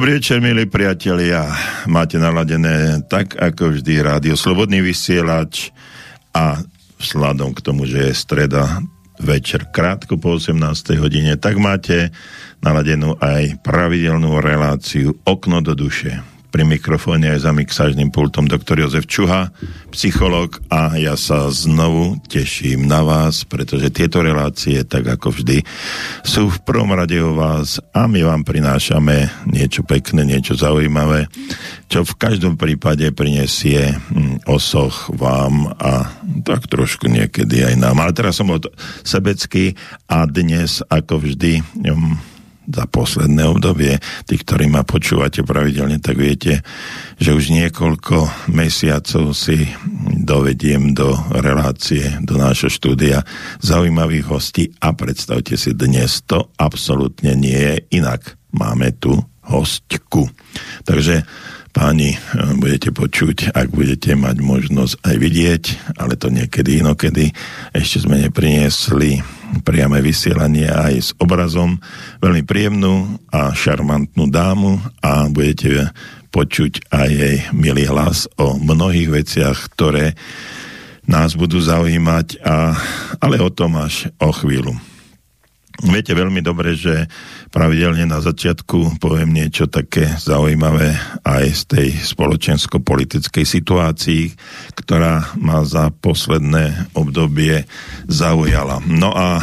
Dobrý večer, milí priatelia. Máte naladené tak, ako vždy, rádio Slobodný vysielač a vzhľadom k tomu, že je streda večer krátko po 18. hodine, tak máte naladenú aj pravidelnú reláciu Okno do duše. Pri mikrofóne aj za mixážnym pultom doktor Jozef Čuha, psychológ, a ja sa znovu teším na vás, pretože tieto relácie, tak ako vždy, sú v prvom rade o vás a my vám prinášame niečo pekné, niečo zaujímavé, čo v každom prípade prinesie osoch vám a tak trošku niekedy aj nám. Ale teraz som sebecký a dnes, ako vždy, za posledné obdobie, tí, ktorí ma počúvate pravidelne, tak viete, že už niekoľko mesiacov si dovediem do relácie, do nášho štúdia zaujímavých hostí a predstavte si, dnes to absolútne nie je inak. Máme tu hostku. Takže páni, budete počuť, ak budete mať možnosť aj vidieť, ale to niekedy inokedy. Ešte sme nepriniesli priame vysielanie aj s obrazom. Veľmi príjemnú a šarmantnú dámu a budete počuť aj jej milý hlas o mnohých veciach, ktoré nás budú zaujímať, ale o tom až o chvíľu. Viete veľmi dobre, že pravidelne na začiatku poviem niečo také zaujímavé aj z tej spoločensko-politickej situácii, ktorá ma za posledné obdobie zaujala. No a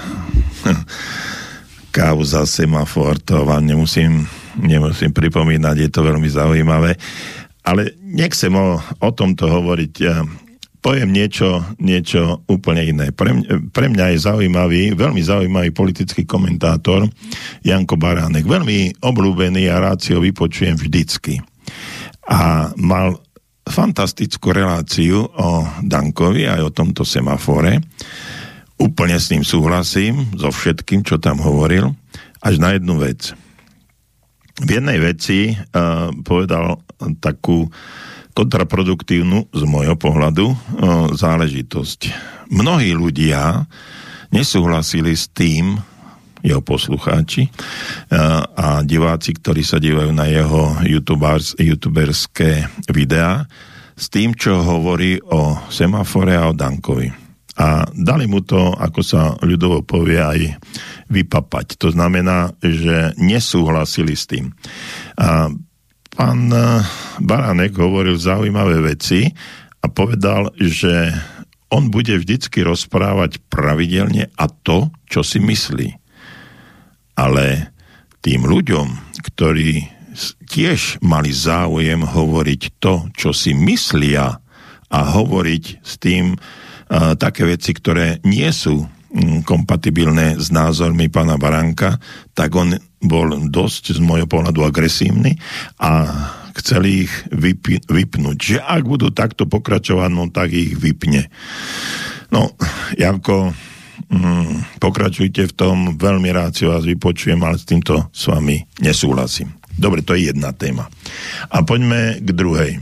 kauza semafor, to vám nemusím pripomínať, je to veľmi zaujímavé, ale nechcem o tomto hovoriť. Poviem niečo úplne iné. Pre mňa je veľmi zaujímavý politický komentátor Janko Baránek. Veľmi obľúbený a rád si ho vypočujem vždycky. A mal fantastickú reláciu o Dankovi aj o tomto semafore. Úplne s ním súhlasím, so všetkým, čo tam hovoril, až na jednu vec. V jednej veci povedal takú kontraproduktívnu z môjho pohľadu záležitosť. Mnohí ľudia nesúhlasili s tým, jeho poslucháči a diváci, ktorí sa dívajú na jeho youtuberské videá, s tým, čo hovorí o semafore a o Dankovi. A dali mu to, ako sa ľudovo povie, aj vypapať. To znamená, že nesúhlasili s tým. A pán Baránek hovoril zaujímavé veci a povedal, že on bude vždycky rozprávať pravidelne a to, čo si myslí. Ale tým ľuďom, ktorí tiež mali záujem hovoriť to, čo si myslia a hovoriť s tým také veci, ktoré nie sú kompatibilné s názormi pána Baránka, tak on bol dosť z môjho pohľadu agresívny a chceli ich vypnúť. Že ak budú takto pokračovať, no tak ich vypne. No, Janko, pokračujte v tom, veľmi rád si vás vypočujem, ale s týmto s vami nesúhlasím. Dobre, to je jedna téma. A poďme k druhej.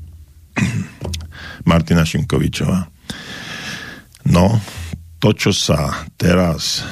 Martina Šimkovičová. No, to, čo sa teraz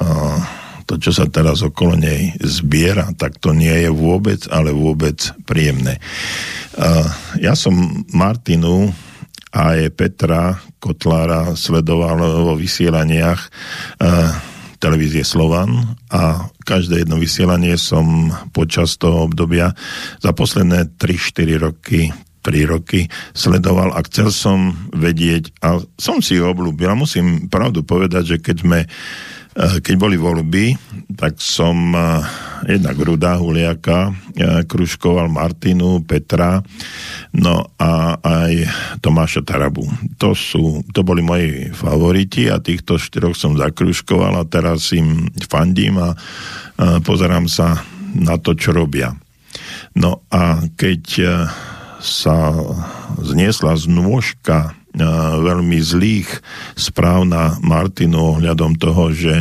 okolo nej zbiera, tak to nie je vôbec, ale vôbec príjemné. Ja som Martinu a aj Petra Kotlára sledoval vo vysielaniach televízie Slovan a každé jedno vysielanie som počas toho obdobia za posledné 3 roky sledoval a chcel som vedieť a som si ho obľúbil. A musím pravdu povedať, že keď boli voľby, tak som jednak Ruda Huliaka kružkoval, Martinu, Petra, no a aj Tomáša Tarabu. To boli moji favoriti a týchto 4 som zakružkoval a teraz im fandím a pozerám sa na to, čo robia. No a keď sa zniesla znôžka veľmi zlých správ na Martinu ohľadom toho, že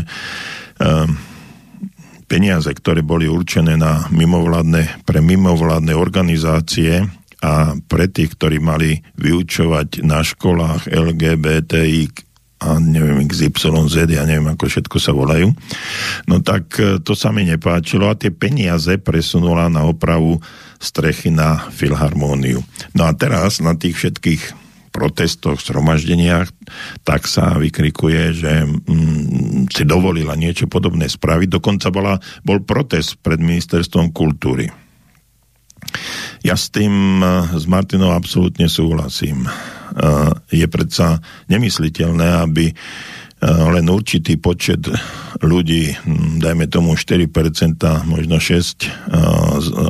peniaze, ktoré boli určené pre mimovládne organizácie a pre tých, ktorí mali vyučovať na školách LGBTI a neviem XYZ, ja neviem, ako všetko sa volajú. No tak to sa mi nepáčilo a tie peniaze presunula na opravu strechy na Filharmóniu. No a teraz na tých všetkých protestoch, zhromaždeniach, tak sa vykrikuje, že si dovolila niečo podobné spraviť. Dokonca bol protest pred ministerstvom kultúry. Ja s tým, s Martinou absolútne súhlasím. Je predsa nemysliteľné, aby len určitý počet ľudí, dajme tomu 4%, možno 6%,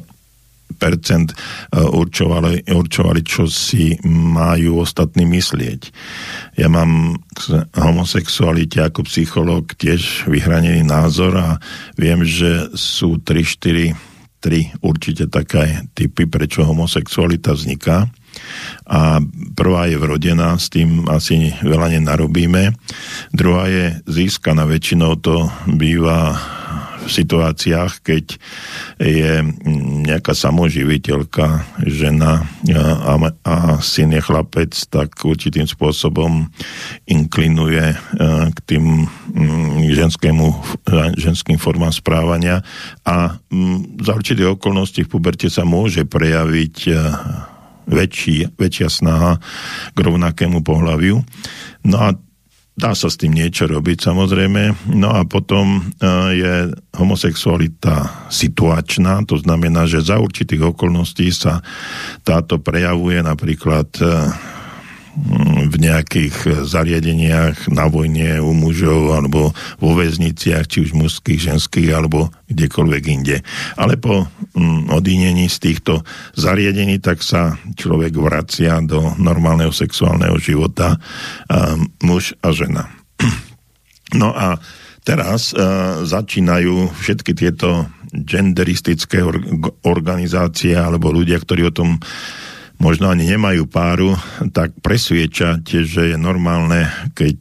určovali, čo si majú ostatní myslieť. Ja mám k homosexualite ako psychológ tiež vyhranený názor a viem, že sú 3 určite také typy, prečo homosexualita vzniká. A prvá je vrodená, s tým asi veľa nenarobíme. Druhá je získaná, väčšinou to býva v situáciách, keď je nejaká samoživiteľka, žena a syn je chlapec, tak určitým spôsobom inklinuje k tým ženským formám správania a za určité okolnosti v puberte sa môže prejaviť väčšia snaha k rovnakému pohľaviu. No a dá sa s tým niečo robiť, samozrejme. No a potom je homosexualita situačná, to znamená, že za určitých okolností sa táto prejavuje napríklad v nejakých zariadeniach na vojne u mužov alebo vo väzniciach, či už mužských, ženských alebo kdekoľvek inde. Ale po odínení z týchto zariadení tak sa človek vracia do normálneho sexuálneho života, muž a žena. No a teraz začínajú všetky tieto genderistické organizácie alebo ľudia, ktorí o tom možno ani nemajú páru, tak presviečať, že je normálne, keď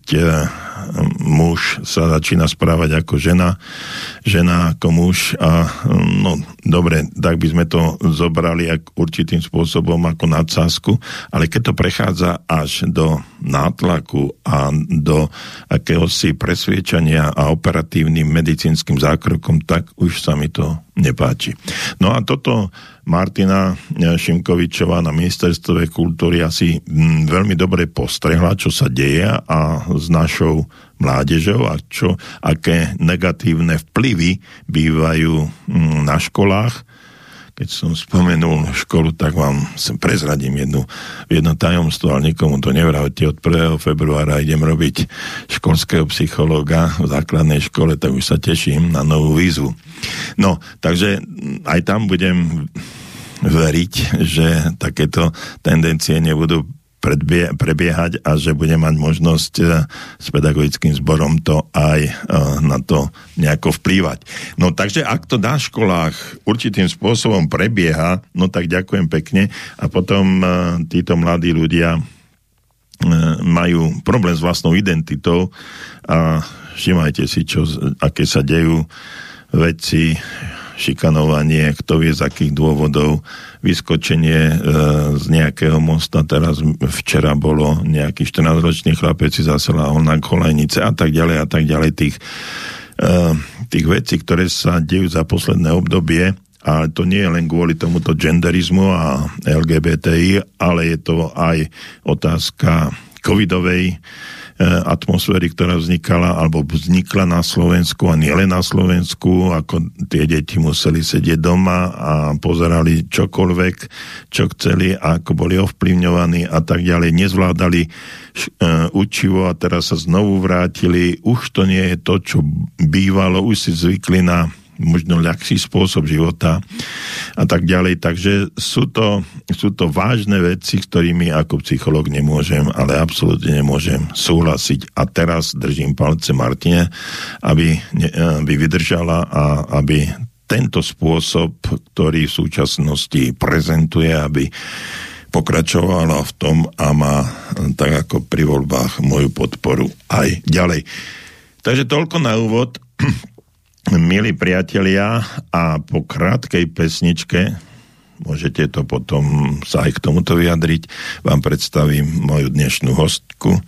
muž sa začína správať ako žena ako muž a no dobre, tak by sme to zobrali určitým spôsobom ako nadsázku, ale keď to prechádza až do nátlaku a do akéhosi presviečania a operatívnym medicínskym zákrokom, tak už sa mi to nepáči. No a toto Martina Šimkovičová na ministerstve kultúry asi veľmi dobre postrehla, čo sa deje a s našou mládežou a aké negatívne vplyvy bývajú na školách. Keď som spomenul školu, tak vám prezradím jedno tajomstvo, ale nikomu to nevravte. Od 1. februára idem robiť školského psychológa v základnej škole, tak už sa teším na novú výzvu. No, takže aj tam budem veriť, že takéto tendencie nebudú prebiehať a že bude mať možnosť s pedagogickým zborom to aj na to nejako vplývať. No takže ak to na školách určitým spôsobom prebieha, no tak ďakujem pekne a potom títo mladí ľudia majú problém s vlastnou identitou a všimajte si, aké sa dejú veci, šikanovanie, kto vie z akých dôvodov, vyskočenie z nejakého mosta, teraz včera bolo nejaký 14-ročný chlapec si zasel na kolejnice a tak ďalej, tých vecí, ktoré sa dejú za posledné obdobie, a to nie je len kvôli tomuto genderizmu a LGBTI, ale je to aj otázka covidovej atmosféry, ktorá vznikla na Slovensku a nielen na Slovensku, ako tie deti museli sedieť doma a pozerali čokoľvek, čo chceli, ako boli ovplyvňovaní a tak ďalej, nezvládali učivo a teraz sa znovu vrátili. Už to nie je to, čo bývalo, už si zvykli na možno ľahší spôsob života a tak ďalej. Takže sú to vážne veci, s ktorými ako psychológ nemôžem, ale absolútne nemôžem súhlasiť. A teraz držím palce Martine, aby vydržala a aby tento spôsob, ktorý v súčasnosti prezentuje, aby pokračovala v tom a má tak ako pri voľbách moju podporu aj ďalej. Takže toľko na úvod. Milí priatelia, a po krátkej pesničke, môžete to potom sa aj k tomuto vyjadriť, vám predstavím moju dnešnú hostku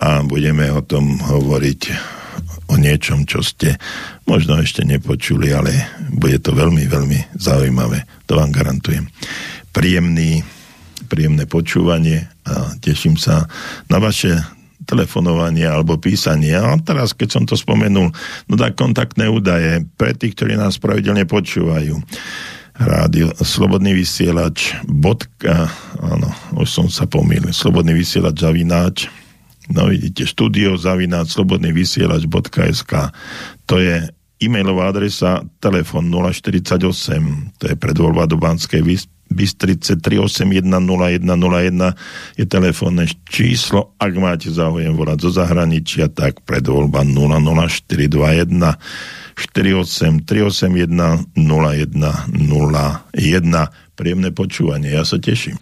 a budeme o tom hovoriť o niečom, čo ste možno ešte nepočuli, ale bude to veľmi, veľmi zaujímavé. To vám garantujem. Príjemné počúvanie a teším sa na vaše telefonovanie alebo písanie. A teraz, keď som to spomenul, no tak kontaktné údaje pre tých, ktorí nás pravidelne počúvajú. Rádio Slobodný vysielač áno, už som sa pomýlil. Slobodný vysielač zavináč. No vidíte, studio zavináč slobodnyvysielač.sk. To je e-mailová adresa, telefon 048, to je predvoľba do Banskej Bystrice 3810101 je telefónne číslo, ak máte záujem volať zo zahraničia, tak predvoľba 00421 48 381 0101. Príjemné počúvanie, ja sa teším.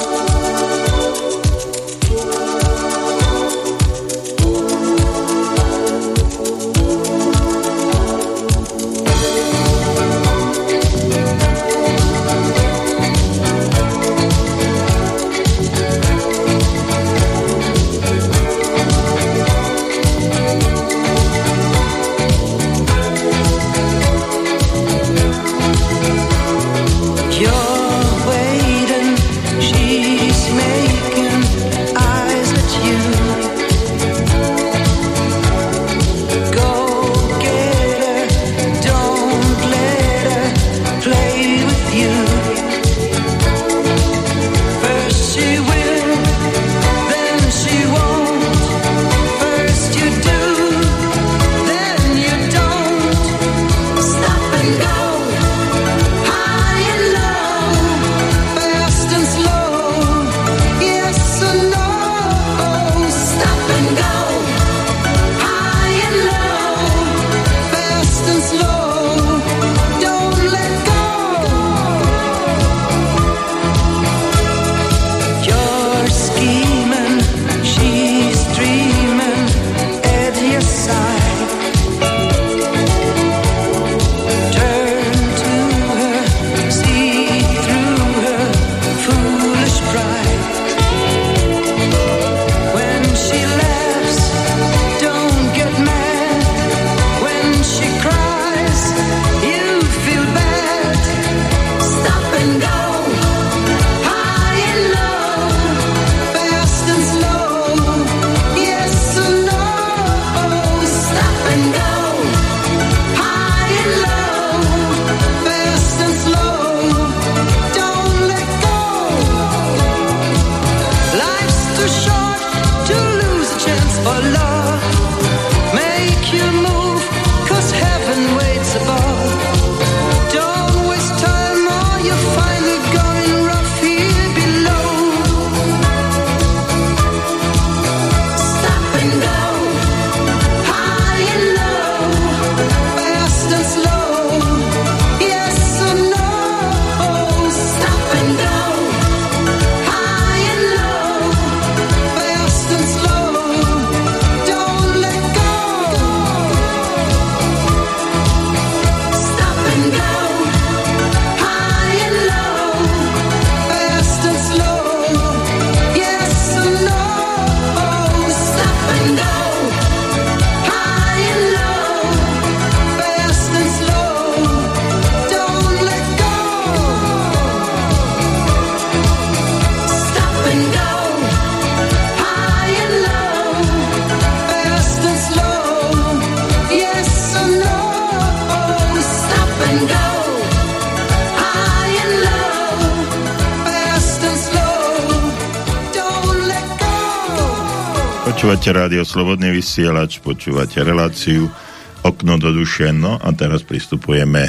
Počúvate rádio Slobodný vysielač, počúvate reláciu Okno do duše. No a teraz pristupujeme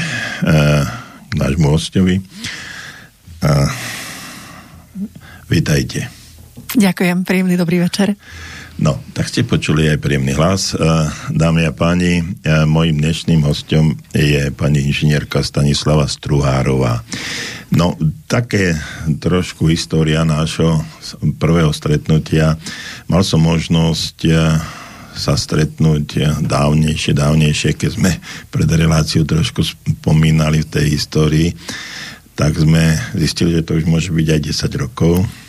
k nášmu hostovi. Vítajte. Ďakujem, príjemný dobrý večer. No, tak ste počuli aj príjemný hlas. Dámy a páni, mojím dnešným hostom je pani inžinierka Stanislava Struhárová. No, také trošku história nášho prvého stretnutia. Mal som možnosť sa stretnúť dávnejšie, keď sme pred reláciou trošku spomínali v tej histórii, tak sme zistili, že to už môže byť aj 10 rokov.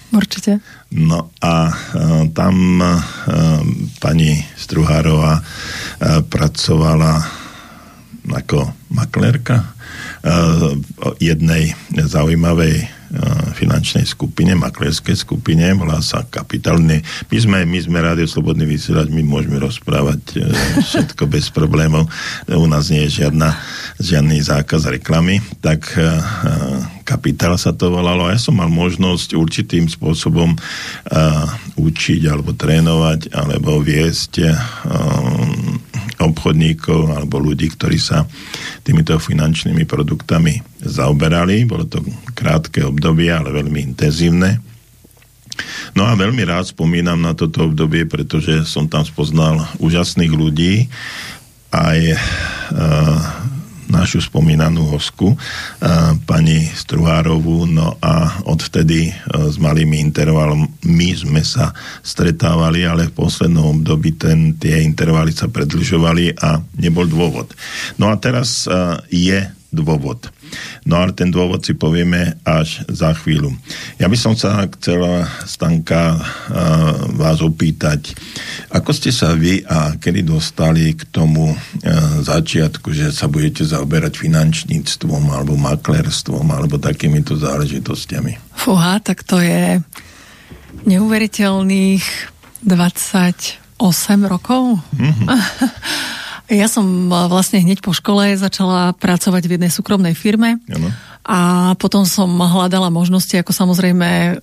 Určite. No a tam pani Struhárová pracovala ako maklérka jednej zaujímavej finančnej skupine, maklérskej skupine, volá sa Kapitál. My sme Rádio Slobodný vysielač, my môžeme rozprávať všetko bez problémov. U nás nie je žiadny zákaz reklamy. Tak Kapitál sa to volalo a ja som mal možnosť určitým spôsobom učiť alebo trénovať alebo viesť obchodníkov alebo ľudí, ktorí sa týmito finančnými produktami zaoberali. Bolo to krátke obdobie, ale veľmi intenzívne. No a veľmi rád spomínam na toto obdobie, pretože som tam spoznal úžasných ľudí, aj našu spomínanú hostku, pani Struhárovú, no a odvtedy s malými intervalmi sme sa stretávali, ale v poslednom období tie intervaly sa predĺžovali a nebol dôvod. No a teraz je dôvod. No ale ten dôvod si povieme až za chvíľu. Ja by som sa chcela, Stanka, vás opýtať, ako ste sa vy a kedy dostali k tomu začiatku, že sa budete zaoberať finančníctvom alebo maklerstvom alebo takýmito záležitostiami? Fúha, tak to je neuveriteľných 28 rokov. Mm-hmm. Ja som vlastne hneď po škole začala pracovať v jednej súkromnej firme. Ano. A potom som hľadala možnosti, ako samozrejme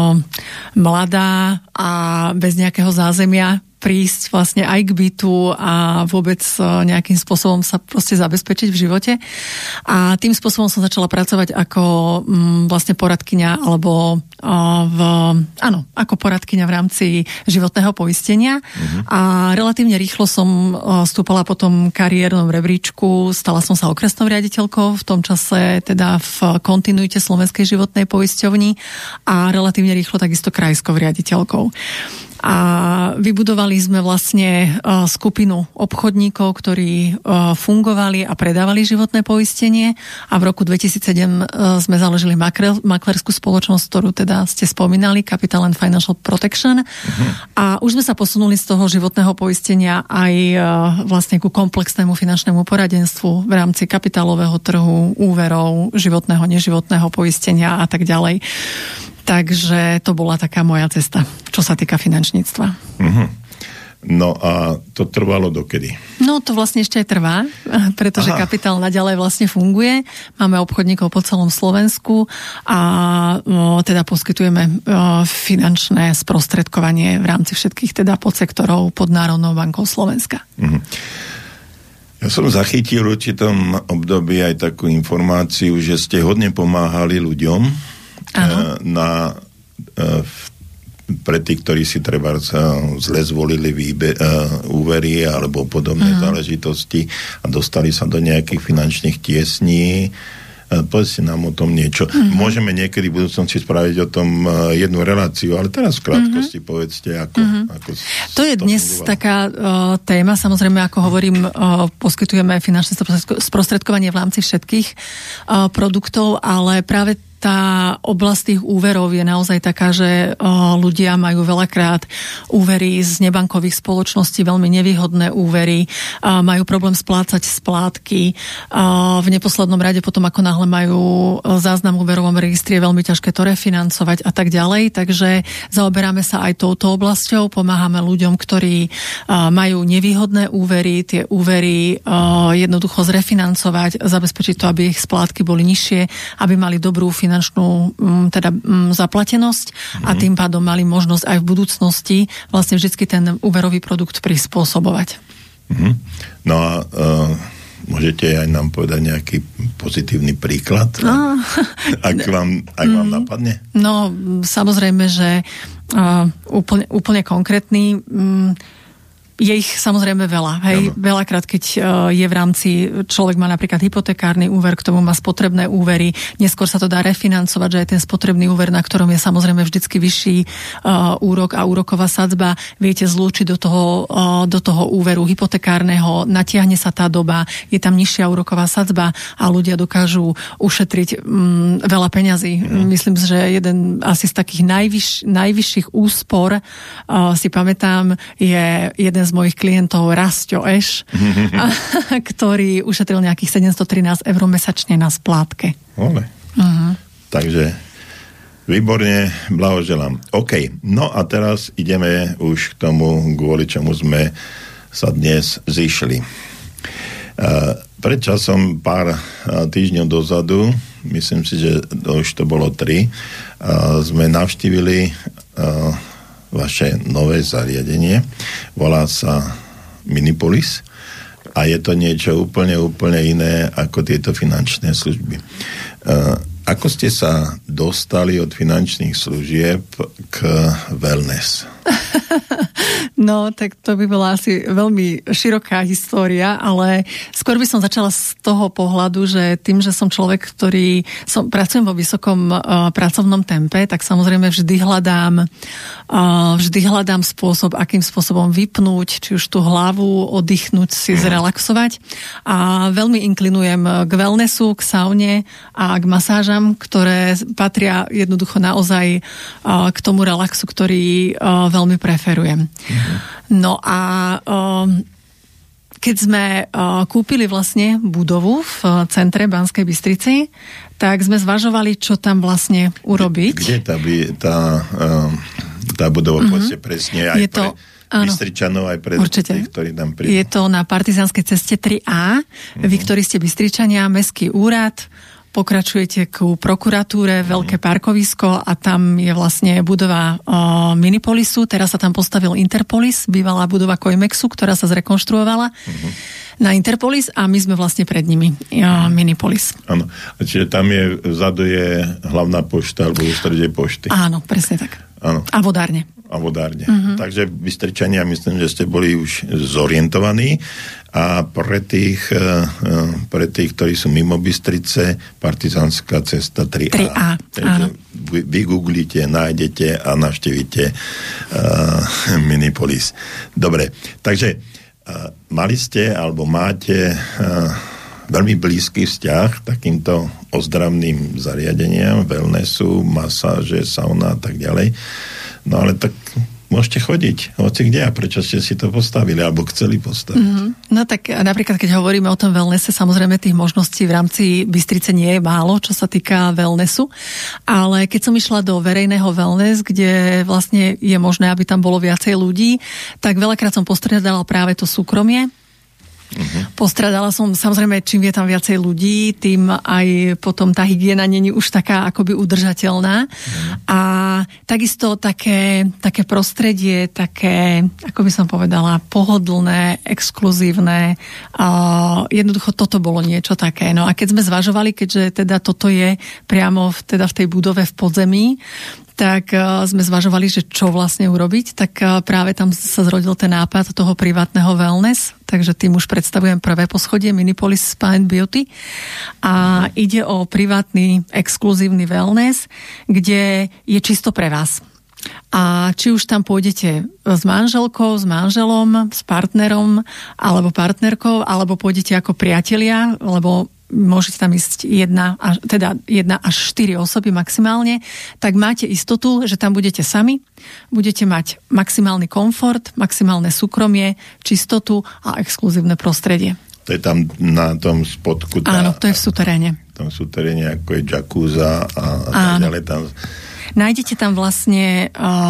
mladá a bez nejakého zázemia prísť vlastne aj k bytu a vôbec nejakým spôsobom sa proste zabezpečiť v živote. A tým spôsobom som začala pracovať ako vlastne poradkyňa alebo ako poradkyňa v rámci životného poistenia. A relatívne rýchlo som vstúpala potom kariérnom rebríčku, stala som sa okresnou riaditeľkou, v tom čase teda v kontinuite Slovenskej životnej poisťovni a relatívne rýchlo takisto krajskou riaditeľkou. A vybudovali sme vlastne skupinu obchodníkov, ktorí fungovali a predávali životné poistenie a v roku 2007 sme založili maklerskú spoločnosť, ktorú teda ste spomínali, Capital and Financial Protection. A už sme sa posunuli z toho životného poistenia aj vlastne ku komplexnému finančnému poradenstvu v rámci kapitálového trhu, úverov, životného, neživotného poistenia a tak ďalej. Takže to bola taká moja cesta, čo sa týka finančníctva. Mm-hmm. No a to trvalo dokedy? No to vlastne ešte aj trvá, pretože Kapitál naďalej vlastne funguje. Máme obchodníkov po celom Slovensku a teda poskytujeme finančné sprostredkovanie v rámci všetkých teda podsektorov pod Národnou bankou Slovenska. Mm-hmm. Ja som zachytil v určitom období aj takú informáciu, že ste hodne pomáhali ľuďom pre tých, ktorí si treba zle zvolili úvery alebo podobné záležitosti a dostali sa do nejakých finančných tiesní. Povedzte nám o tom niečo. Môžeme niekedy v budúcnosti spraviť o tom jednu reláciu, ale teraz v krátkosti povedzte, ako to je dnes taká téma, samozrejme, ako hovorím, poskytujeme finančné sprostredkovanie v rámci všetkých produktov, ale práve tá oblasť tých úverov je naozaj taká, že ľudia majú veľakrát úvery z nebankových spoločností, veľmi nevýhodné úvery, majú problém splácať splátky. V neposlednom rade potom, ako náhle majú záznam v úverovom registri, je veľmi ťažké to refinancovať a tak ďalej. Takže zaoberáme sa aj touto oblasťou, pomáhame ľuďom, ktorí majú nevýhodné úvery, tie úvery jednoducho zrefinancovať, zabezpečiť to, aby ich splátky boli nižšie, aby mali dobrú finančnú zaplatenosť a tým pádom mali možnosť aj v budúcnosti vlastne vždycky ten úverový produkt prispôsobovať. No a môžete aj nám povedať nejaký pozitívny príklad? Ak vám napadne? No, samozrejme, že úplne konkrétny. Je ich samozrejme veľa. Hej? Veľakrát, keď je v rámci, človek má napríklad hypotekárny úver, k tomu má spotrebné úvery, neskôr sa to dá refinancovať, že aj ten spotrebný úver, na ktorom je samozrejme vždycky vyšší úrok a úroková sadzba, viete zlúčiť do toho úveru hypotekárneho, natiahne sa tá doba, je tam nižšia úroková sadzba a ľudia dokážu ušetriť veľa peňazí. Myslím, že jeden asi z takých najvyšších úspor si pamätám, je jeden z mojich klientov Rasťo Eš, ktorý ušetril nejakých 713 eur mesačne na splátke. Takže výborne, blahoželám. OK, no a teraz ideme už k tomu, kvôli čomu sme sa dnes zišli. Pred časom, pár týždňov dozadu, myslím si, že už to bolo 3, sme navštívili vaše nové zariadenie. Volá sa Minipolis a je to niečo úplne iné ako tieto finančné služby. Ako ste sa dostali od finančných služieb k wellness? No, tak to by bola asi veľmi široká história, ale skôr by som začala z toho pohľadu, že tým, že som človek, pracujem vo vysokom pracovnom tempe, tak samozrejme vždy hľadám spôsob, akým spôsobom vypnúť, či už tú hlavu, oddychnúť si, zrelaxovať. A veľmi inklinujem k wellnessu, k saune a k masážam, ktoré patria jednoducho naozaj k tomu relaxu, ktorý veľmi preferujem. No a keď sme kúpili vlastne budovu v centre Banskej Bystrici, tak sme zvažovali, čo tam vlastne urobiť. Kde tá budova presne aj pre Bystričanov, aj pre tých, ktorí tam prídu? Je to na Partizánskej ceste 3A. Vy, ktorí ste Bystričania, Mestský úrad, pokračujete ku prokuratúre, veľké parkovisko a tam je vlastne budova Minipolisu. Teraz sa tam postavil Interpolis, bývalá budova Coimexu, ktorá sa zrekonštruovala na Interpolis a my sme vlastne pred nimi Minipolis. Áno. Čiže tam vzadu je hlavná pošta alebo ústredie pošty. Áno, presne tak. Áno. A vodárne. Takže Bystričania, myslím, že ste boli už zorientovaní a pre tých, ktorí sú mimo Bystrice, Partizánska cesta 3A. Takže vygooglite, nájdete a navštívite Minipolis. Dobre, takže mali ste alebo máte veľmi blízky vzťah takýmto ozdravným zariadeniam, wellnessu, masáže, sauna a tak ďalej. No ale tak môžete chodiť hoci kde a prečo ste si to postavili alebo chceli postaviť? No tak napríklad, keď hovoríme o tom wellnesse, samozrejme tých možností v rámci Bystrice nie je málo, čo sa týka wellnessu, ale keď som išla do verejného wellness, kde vlastne je možné, aby tam bolo viacej ľudí, tak veľakrát som postradala práve to súkromie. Postradala som, samozrejme, čím je tam viacej ľudí, tým aj potom tá hygiena není už taká akoby udržateľná. A takisto také prostredie, také, ako by som povedala, pohodlné, exkluzívne. Jednoducho toto bolo niečo také. No a keď sme zvažovali, keďže teda toto je priamo v tej budove v podzemí, tak sme zvažovali, že čo vlastne urobiť, tak práve tam sa zrodil ten nápad toho privátneho wellness, takže tým už predstavujem prvé poschodie Minipolis Spa and Beauty a ide o privátny, exkluzívny wellness, kde je čisto pre vás. A či už tam pôjdete s manželkou, s manželom, s partnerom alebo partnerkou, alebo pôjdete ako priatelia, lebo môžete tam ísť jedna až 4 osoby maximálne, tak máte istotu, že tam budete sami, budete mať maximálny komfort, maximálne súkromie, čistotu a exkluzívne prostredie. To je tam na tom spodku. Áno, to je v suteréne. Tam v suteréne, ako je jacuzza a tak ďalej tam. Nájdete tam vlastne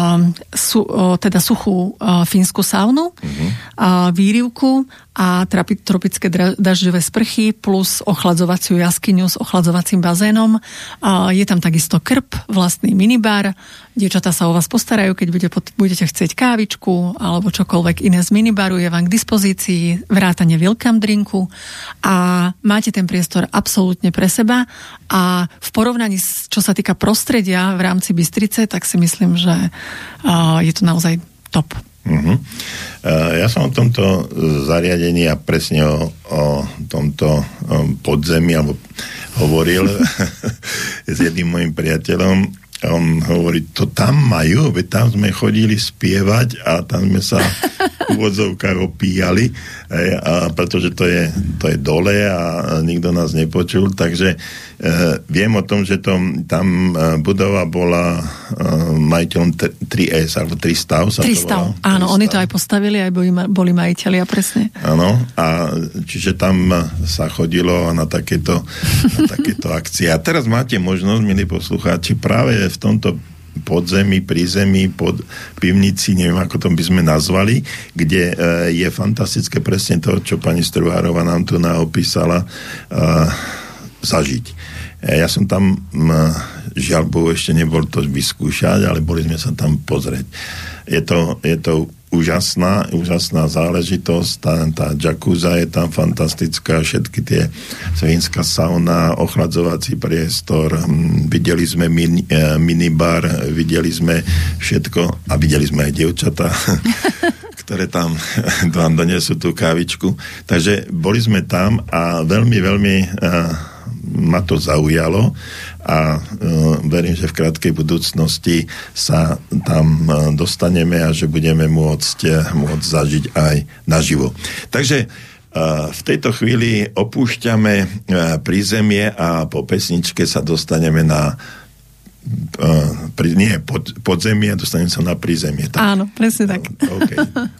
suchú fínsku saunu, výrivku a tropické dažďové sprchy plus ochladzovaciu jaskyňu s ochladzovacím bazénom. Je tam takisto krb, vlastný minibar. Dievčatá sa o vás postarajú, keď budete chcieť kávičku alebo čokoľvek iné z minibaru, je vám k dispozícii, vrátane welcome drinku a máte ten priestor absolútne pre seba a v porovnaní, čo sa týka prostredia v rámci Bystrice, tak si myslím, že je to naozaj top. Ja som o tomto zariadení a presne o tomto podzemí hovoril s jedným mojim priateľom. On hovorí, to tam majú, veď tam sme chodili spievať a tam sme sa v úvodzovkách opíjali, a pretože to je dole a nikto nás nepočul, takže viem o tom, že tam budova bola majiteľom 3S, alebo 3 stav sa 3 stav, áno, oni to aj postavili, aj boli majiteľia, presne. Áno, a čiže tam sa chodilo na takéto akcie. A teraz máte možnosť, milí poslucháči, práve v tomto podzemí, prízemí, pod pivnici, neviem, ako to by sme nazvali, kde je fantastické presne to, čo pani Struvárova nám tu opísala, zažiť. Ja som tam, žiaľ Bohu, ešte nebol to vyskúšať, ale boli sme sa tam pozrieť. Je to úžasná záležitosť, tá jacuzza je tam fantastická, všetky tie svínska sauna, ochladzovací priestor, videli sme minibar, videli sme všetko a videli sme aj dievčatá, ktoré tam vám donesú tú kávičku. Takže boli sme tam a veľmi, veľmi ma to zaujalo a verím, že v krátkej budúcnosti sa tam dostaneme a že budeme môcť zažiť aj naživo. Takže v tejto chvíli opúšťame prízemie a po pesničke sa dostaneme na podzemie, dostaneme sa na prízemie. Tak? Áno, presne tak. Okay.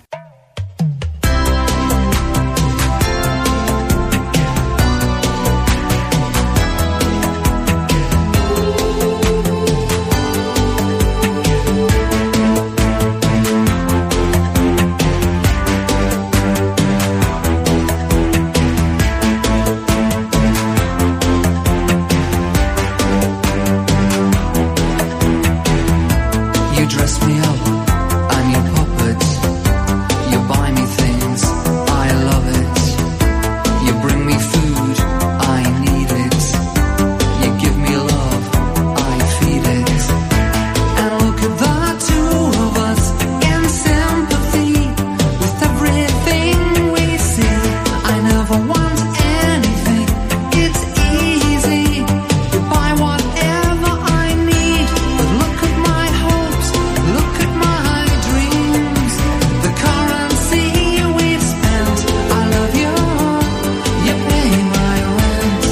Dress me up, I'm your puppet. You buy me things, I love it. You bring me food, I need it. You give me love, I feel it. And look at the two of us in sympathy with everything we see. I never want anything, it's easy. You buy whatever I need, but look at my hopes. Look at my dreams, the currency we've spent. I love you, you pay my rent.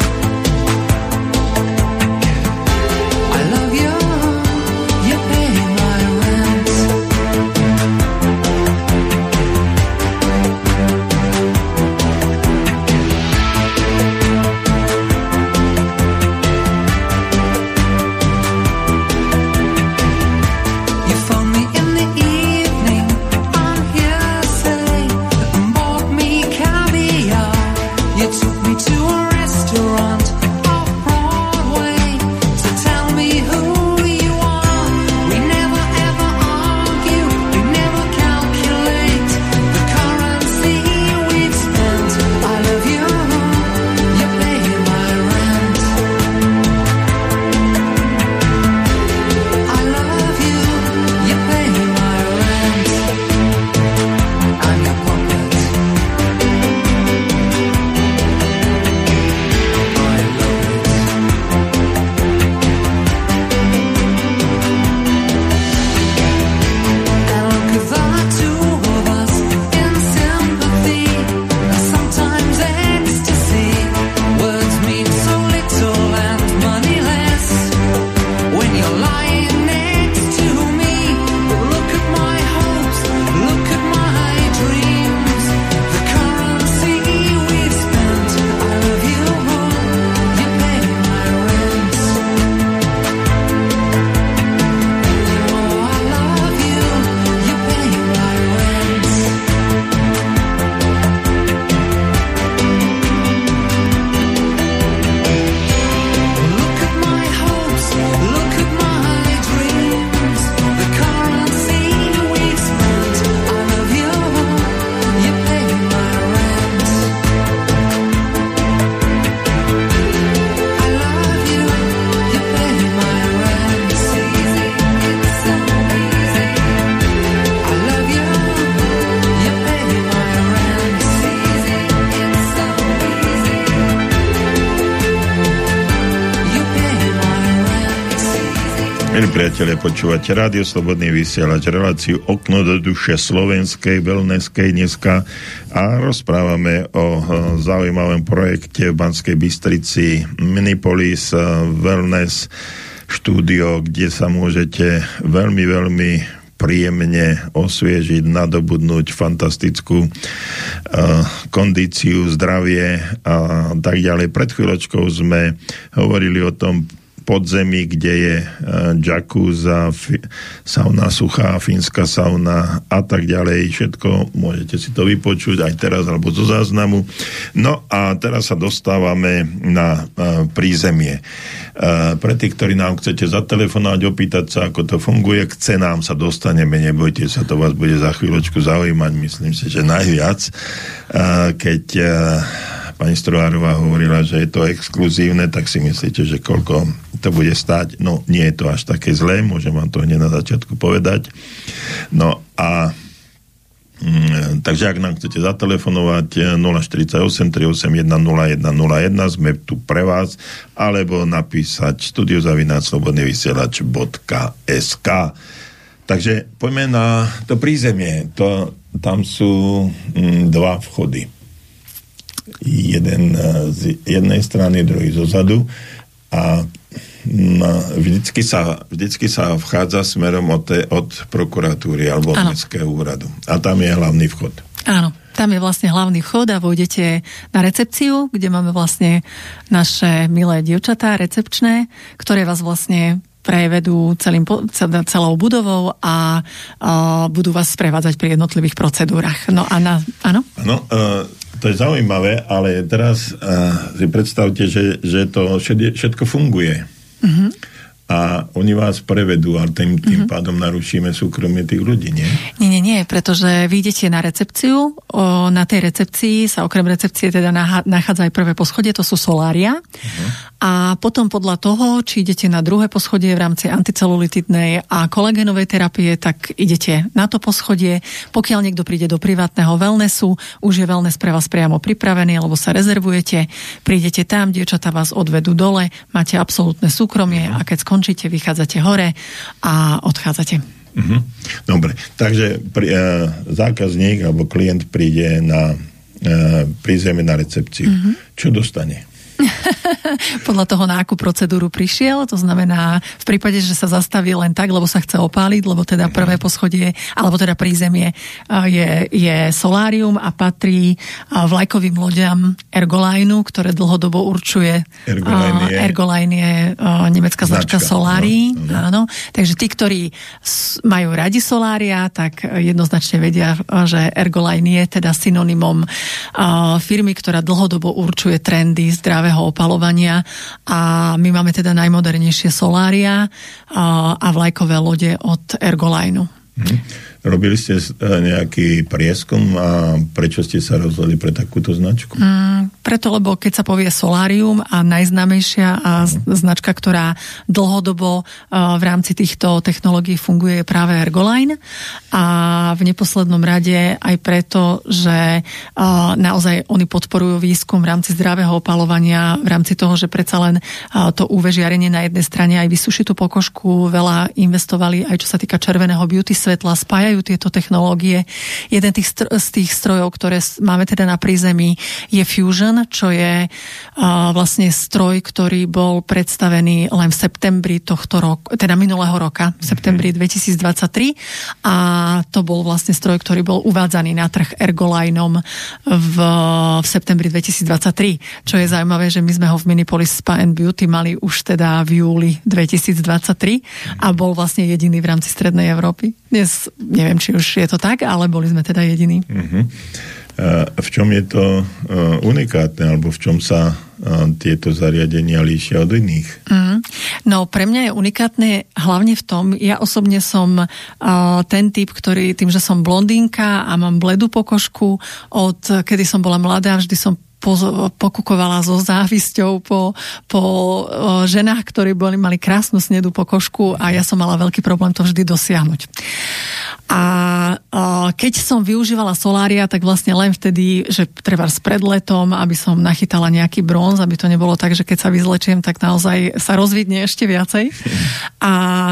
I love you, you pay my rent. You phone me in the evening on hearsay and bought me caviar. You took me to a restaurant off Broadway to tell me who you are. We never ever argue, we never calculate the currency we've spent. I love you, you pay my rent. I love you, you pay my rent. I'm your puppet. I Milí priatelia, počúvate Rádio Slobodný vysielač, reláciu Okno do duše slovenskej, wellnesskej dneska a rozprávame o zaujímavom projekte v Banskej Bystrici Minipolis Wellness štúdio, kde sa môžete veľmi, veľmi príjemne osviežiť, nadobudnúť fantastickú kondíciu, zdravie a tak ďalej. Pred chvíľočkou sme hovorili o tom podzemí, kde je jacuzza, sauna suchá, fínska sauna a tak ďalej. Všetko môžete si to vypočuť aj teraz alebo zo záznamu. No a teraz sa dostávame na prízemie. Pre tých, ktorí nám chcete zatelefonovať, opýtať sa, ako to funguje, k cenám sa dostaneme, nebojte sa, to vás bude za chvíľočku zaujímať, myslím si, že najviac. Keď pani Strohárová hovorila, že je to exkluzívne, tak si myslíte, že koľko to bude stáť? No, nie je to až také zlé, môžem vám to hneď na začiatku povedať. No a takže ak nám chcete zatelefonovať 048 381 0101, sme tu pre vás, alebo napísať studio@slobodnyvysielac.sk. Takže poďme na to prízemie. Tam sú dva vchody. Jeden z jednej strany, druhý zo zadu a vždycky sa vchádza smerom od prokuratúry alebo od mestského úradu. A tam je hlavný vchod. Áno, tam je vlastne hlavný vchod a vojdete na recepciu, kde máme vlastne naše milé dievčatá recepčné, ktoré vás vlastne prevedú celou budovou a budú vás sprevádzať pri jednotlivých procedúrach. No a áno? Áno, to je zaujímavé, ale teraz si predstavte, že to všetko funguje. Mm-hmm. A oni vás prevedú a tým pádom narušíme súkromie tých ľudí, nie? Nie, pretože vy idete na recepciu, na tej recepcii sa okrem recepcie teda nachádza aj prvé poschodie, to sú solária. A potom podľa toho, či idete na druhé poschodie v rámci anticelulitidnej a kolagénovej terapie, tak idete na to poschodie. Pokiaľ niekto príde do privátneho wellnessu, už je wellness pre vás priamo pripravený, alebo sa rezervujete, prídete tam, dievčatá vás odvedú dole, máte absolútne súkromie a keď skončíte, vychádzate hore a odchádzate. Dobre, takže zákazník alebo klient príde na prízemie na recepciu. Čo dostane? Podľa toho, na akú procedúru prišiel, to znamená v prípade, že sa zastaví len tak, lebo sa chce opáliť, lebo teda prvé poschodie, alebo teda prízemie je solárium a patrí vlajkovým loďam Ergolineu, ktoré dlhodobo určuje Ergoline je nemecká značka solárií. Áno. Takže tí, ktorí majú radi solária, tak jednoznačne vedia, že Ergoline je teda synonymom firmy, ktorá dlhodobo určuje trendy zdravého opalovania a my máme teda najmodernejšie solária a vlajkové lode od Ergolineu. Robili ste nejaký prieskum a prečo ste sa rozhodli pre takúto značku? Preto, lebo keď sa povie solárium a najznámejšia značka, ktorá dlhodobo v rámci týchto technológií funguje, je práve Ergoline a v neposlednom rade aj preto, že naozaj oni podporujú výskum v rámci zdravého opalovania, v rámci toho, že predsa len to UV žiarenie na jednej strane aj vysušitú pokožku veľa investovali aj čo sa týka červeného beauty svetla, spájajú tieto technológie. Jeden z tých strojov, ktoré máme teda na prízemí, je Fusion, čo je vlastne stroj, ktorý bol predstavený len v septembri tohto roku, teda minulého roka, v septembri 2023 a to bol vlastne stroj, ktorý bol uvádzaný na trh Ergolineom v septembri 2023. Čo je zaujímavé, že my sme ho v Minipolis Spa and Beauty mali už teda v júli 2023 a bol vlastne jediný v rámci Strednej Európy. Dnes neviem, či už je to tak, ale boli sme teda jediní. V čom je to unikátne, alebo v čom sa tieto zariadenia líšia od iných? No, pre mňa je unikátne hlavne v tom, ja osobne som ten typ, ktorý tým, že som blondínka a mám bledú pokožku, od kedy som bola mladá, vždy som pokukovala so závisťou po ženách, ktorí mali krásnu snedú pokožku a ja som mala veľký problém to vždy dosiahnuť. A keď som využívala solária, tak vlastne len vtedy, že treba pred letom, aby som nachytala nejaký bronz, aby to nebolo tak, že keď sa vyzlečiem, tak naozaj sa rozvidne ešte viacej. A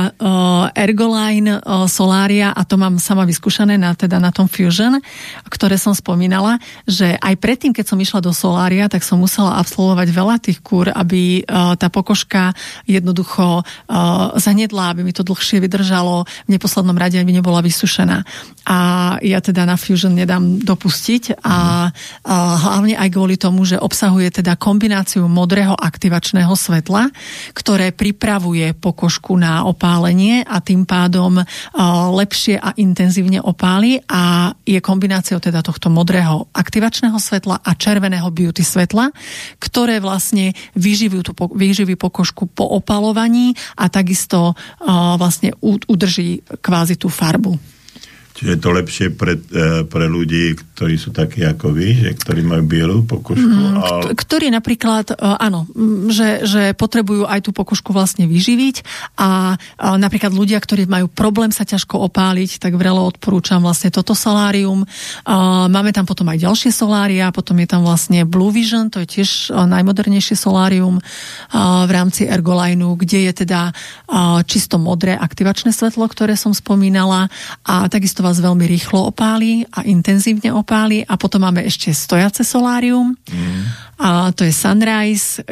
Ergoline solária, a to mám sama vyskúšané na tom Fusion, ktoré som spomínala, že aj predtým, keď som išla do solária, tak som musela absolvovať veľa tých kúr, aby tá pokožka jednoducho zanedla, aby mi to dlhšie vydržalo, v neposlednom rade aby nebola vysušená. A ja teda na Fusion nedám dopustiť a hlavne aj kvôli tomu, že obsahuje teda kombináciu modrého aktivačného svetla, ktoré pripravuje pokožku na opálenie a tým pádom lepšie a intenzívne opáli a je kombináciou teda tohto modrého aktivačného svetla a červeného beauty svetla, ktoré vlastne vyživí pokožku po opalovaní a takisto vlastne udrží kvázi tú farbu. Čiže je to lepšie pre ľudí, ktorí sú takí ako vy, že ktorí majú bielú pokožku? Ktorí napríklad, áno, že potrebujú aj tú pokožku vlastne vyživiť a napríklad ľudia, ktorí majú problém sa ťažko opáliť, tak vrelo odporúčam vlastne toto solárium. Máme tam potom aj ďalšie solária, potom je tam vlastne Blue Vision, to je tiež najmodernejšie solárium v rámci Ergolineu, kde je teda čisto modré aktivačné svetlo, ktoré som spomínala a takisto vás veľmi rýchlo opálí a intenzívne opálí a potom máme ešte stojace solárium a to je Sunrise,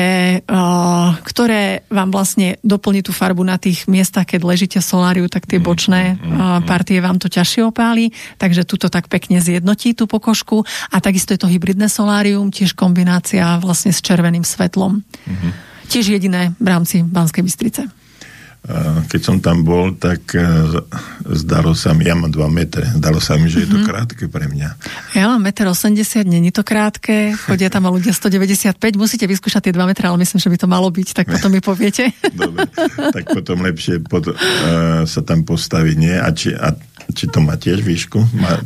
ktoré vám vlastne doplní tú farbu na tých miestach, keď ležíte v soláriu, tak tie bočné partie vám to ťažšie opálí, takže tuto tak pekne zjednotí tú pokožku a takisto je to hybridné solárium, tiež kombinácia vlastne s červeným svetlom. Tiež jediné v rámci Banskej Bystrice. Keď som tam bol, tak zdalo sa mi, ja mám 2 metre, zdalo sa mi, že je to krátke pre mňa. Ja mám 1,80 m, není to krátke, chodia tam ľudia 195, musíte vyskúšať tie 2 metre, ale myslím, že by to malo byť, tak potom mi poviete. Dobre, tak potom lepšie sa tam postaviť, nie? A či to má tiež výšku?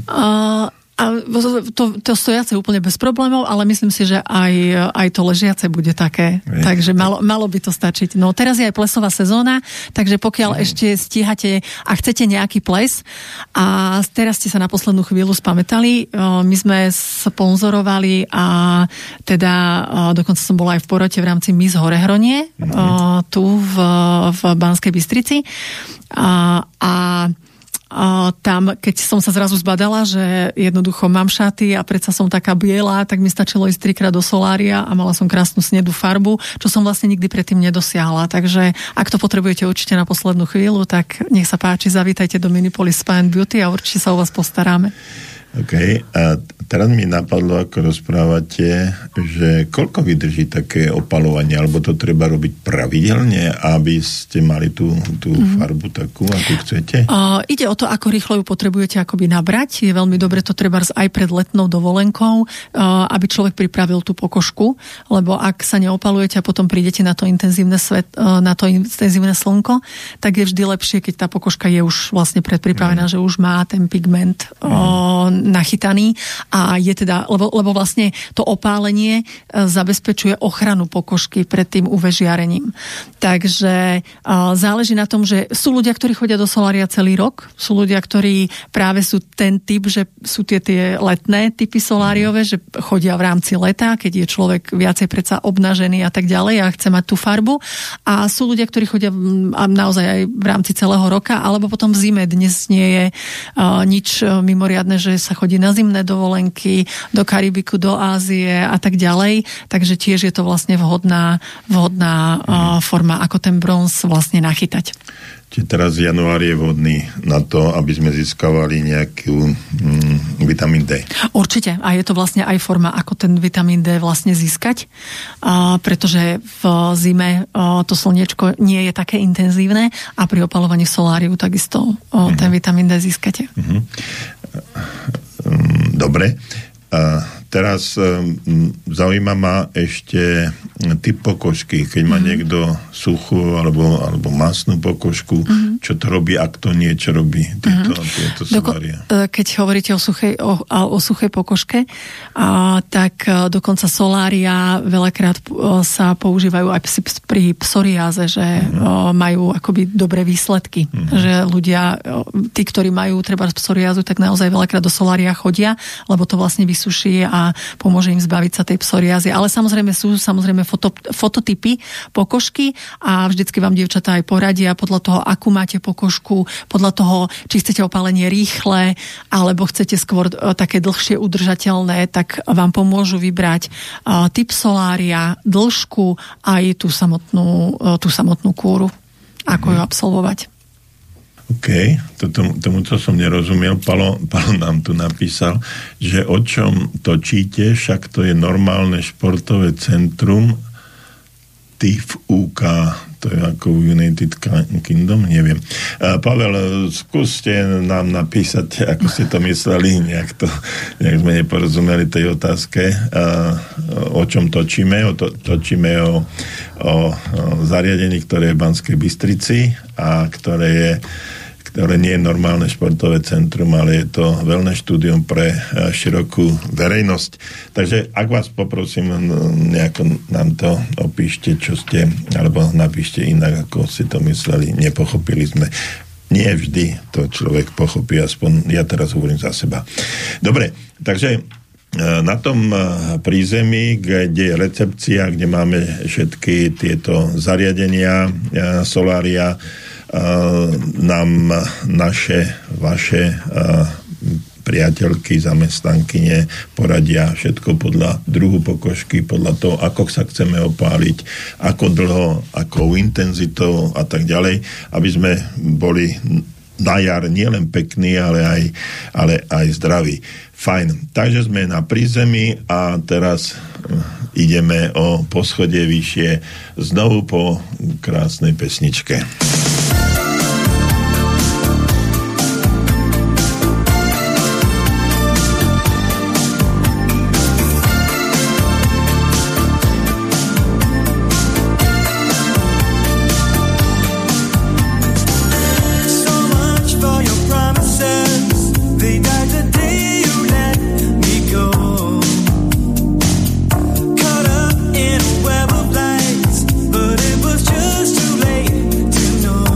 A to stojace úplne bez problémov, ale myslím si, že aj to ležiace bude také. Takže malo by to stačiť. No teraz je aj plesová sezóna, takže pokiaľ ešte stíhate a chcete nejaký ples a teraz ste sa na poslednú chvíľu spamätali, my sme sponzorovali a teda dokonca som bola aj v porote v rámci Miss Horehronie tu v Banskej Bystrici a tam, keď som sa zrazu zbadala, že jednoducho mám šaty a predsa som taká biela, tak mi stačilo ísť 3-krát do solária a mala som krásnu snedú farbu, čo som vlastne nikdy predtým nedosiahla. Takže ak to potrebujete určite na poslednú chvíľu, tak nech sa páči, zavítajte do Minipolis Spa & Beauty a určite sa o vás postaráme. OK. A teraz mi napadlo, ako rozprávate, že koľko vydrží také opalovanie, alebo to treba robiť pravidelne, aby ste mali tú farbu takú, ako chcete? Ide o to, ako rýchlo ju potrebujete akoby nabrať. Je veľmi dobre to treba aj pred letnou dovolenkou, aby človek pripravil tú pokožku, lebo ak sa neopalujete a potom prídete na to intenzívne slnko, tak je vždy lepšie, keď tá pokožka je už vlastne predpripravená, že už má ten pigment nachytaný a je teda, lebo vlastne to opálenie zabezpečuje ochranu pokožky pred tým UV žiarením. Takže záleží na tom, že sú ľudia, ktorí chodia do solária celý rok, sú ľudia, ktorí práve sú ten typ, že sú tie letné typy soláriové, že chodia v rámci leta, keď je človek viacej predsa obnažený a tak ďalej a chce mať tú farbu. A sú ľudia, ktorí chodia naozaj aj v rámci celého roka, alebo potom v zime. Dnes nie je nič mimoriadne, že sa chodí na zimné dovolenky, do Karibiku, do Ázie a tak ďalej. Takže tiež je to vlastne vhodná forma, ako ten bronz vlastne nachytať. Čiže teraz január je vhodný na to, aby sme získavali nejakú vitamín D. Určite. A je to vlastne aj forma, ako ten vitamín D vlastne získať. Pretože v zime to slniečko nie je také intenzívne a pri opalovaní soláriu takisto ten vitamín D získate. Dobre. Teraz zaujíma ma ešte typ pokožky. Keď má niekto suchú alebo masnú pokožku, čo to robí, ak to niečo robí tieto solária? Keď hovoríte o suchej pokožke, tak dokonca solária veľakrát sa používajú aj pri psoriáze, že majú akoby dobré výsledky. Že ľudia, tí, ktorí majú treba psoriázu, tak naozaj veľakrát do solária chodia, lebo to vlastne vysuší a pomôže im zbaviť sa tej psoriázy. Ale samozrejme sú fototypy pokožky a vždycky vám dievčatá aj poradia podľa toho, akú máte pokožku, podľa toho, či chcete opálenie rýchle, alebo chcete skôr také dlhšie udržateľné, tak vám pomôžu vybrať typ solária, dĺžku aj tú samotnú kúru, ako ju absolvovať. OK, tomuto som nerozumel. Palo nám tu napísal, že o čom točíte, však to je normálne športové centrum TIF-UK, to je ako United Kingdom, neviem. Pavel, skúste nám napísať, ako ste to mysleli, nejak sme neporozumeli tej otázke, o čom točíme. Točíme o zariadení, ktoré je v Banskej Bystrici a ktoré nie je normálne športové centrum, ale je to wellness štúdium pre širokú verejnosť. Takže ak vás poprosím, nejako nám to opíšte, čo ste, alebo napíšte inak, ako ste to mysleli. Nepochopili sme. Nie vždy to človek pochopí, aspoň ja teraz hovorím za seba. Dobre, takže na tom prízemí, kde je recepcia, kde máme všetky tieto zariadenia, solária, nám vaše priateľky, zamestnankyne poradia všetko podľa druhu pokožky, podľa toho, ako sa chceme opáliť, ako dlho, akou intenzitou a tak ďalej, aby sme boli na jar nielen pekní, ale aj zdraví. Fajn. Takže sme na prízemí a teraz ideme o poschodie vyššie znovu po krásnej pesničke. But it was just too late to know.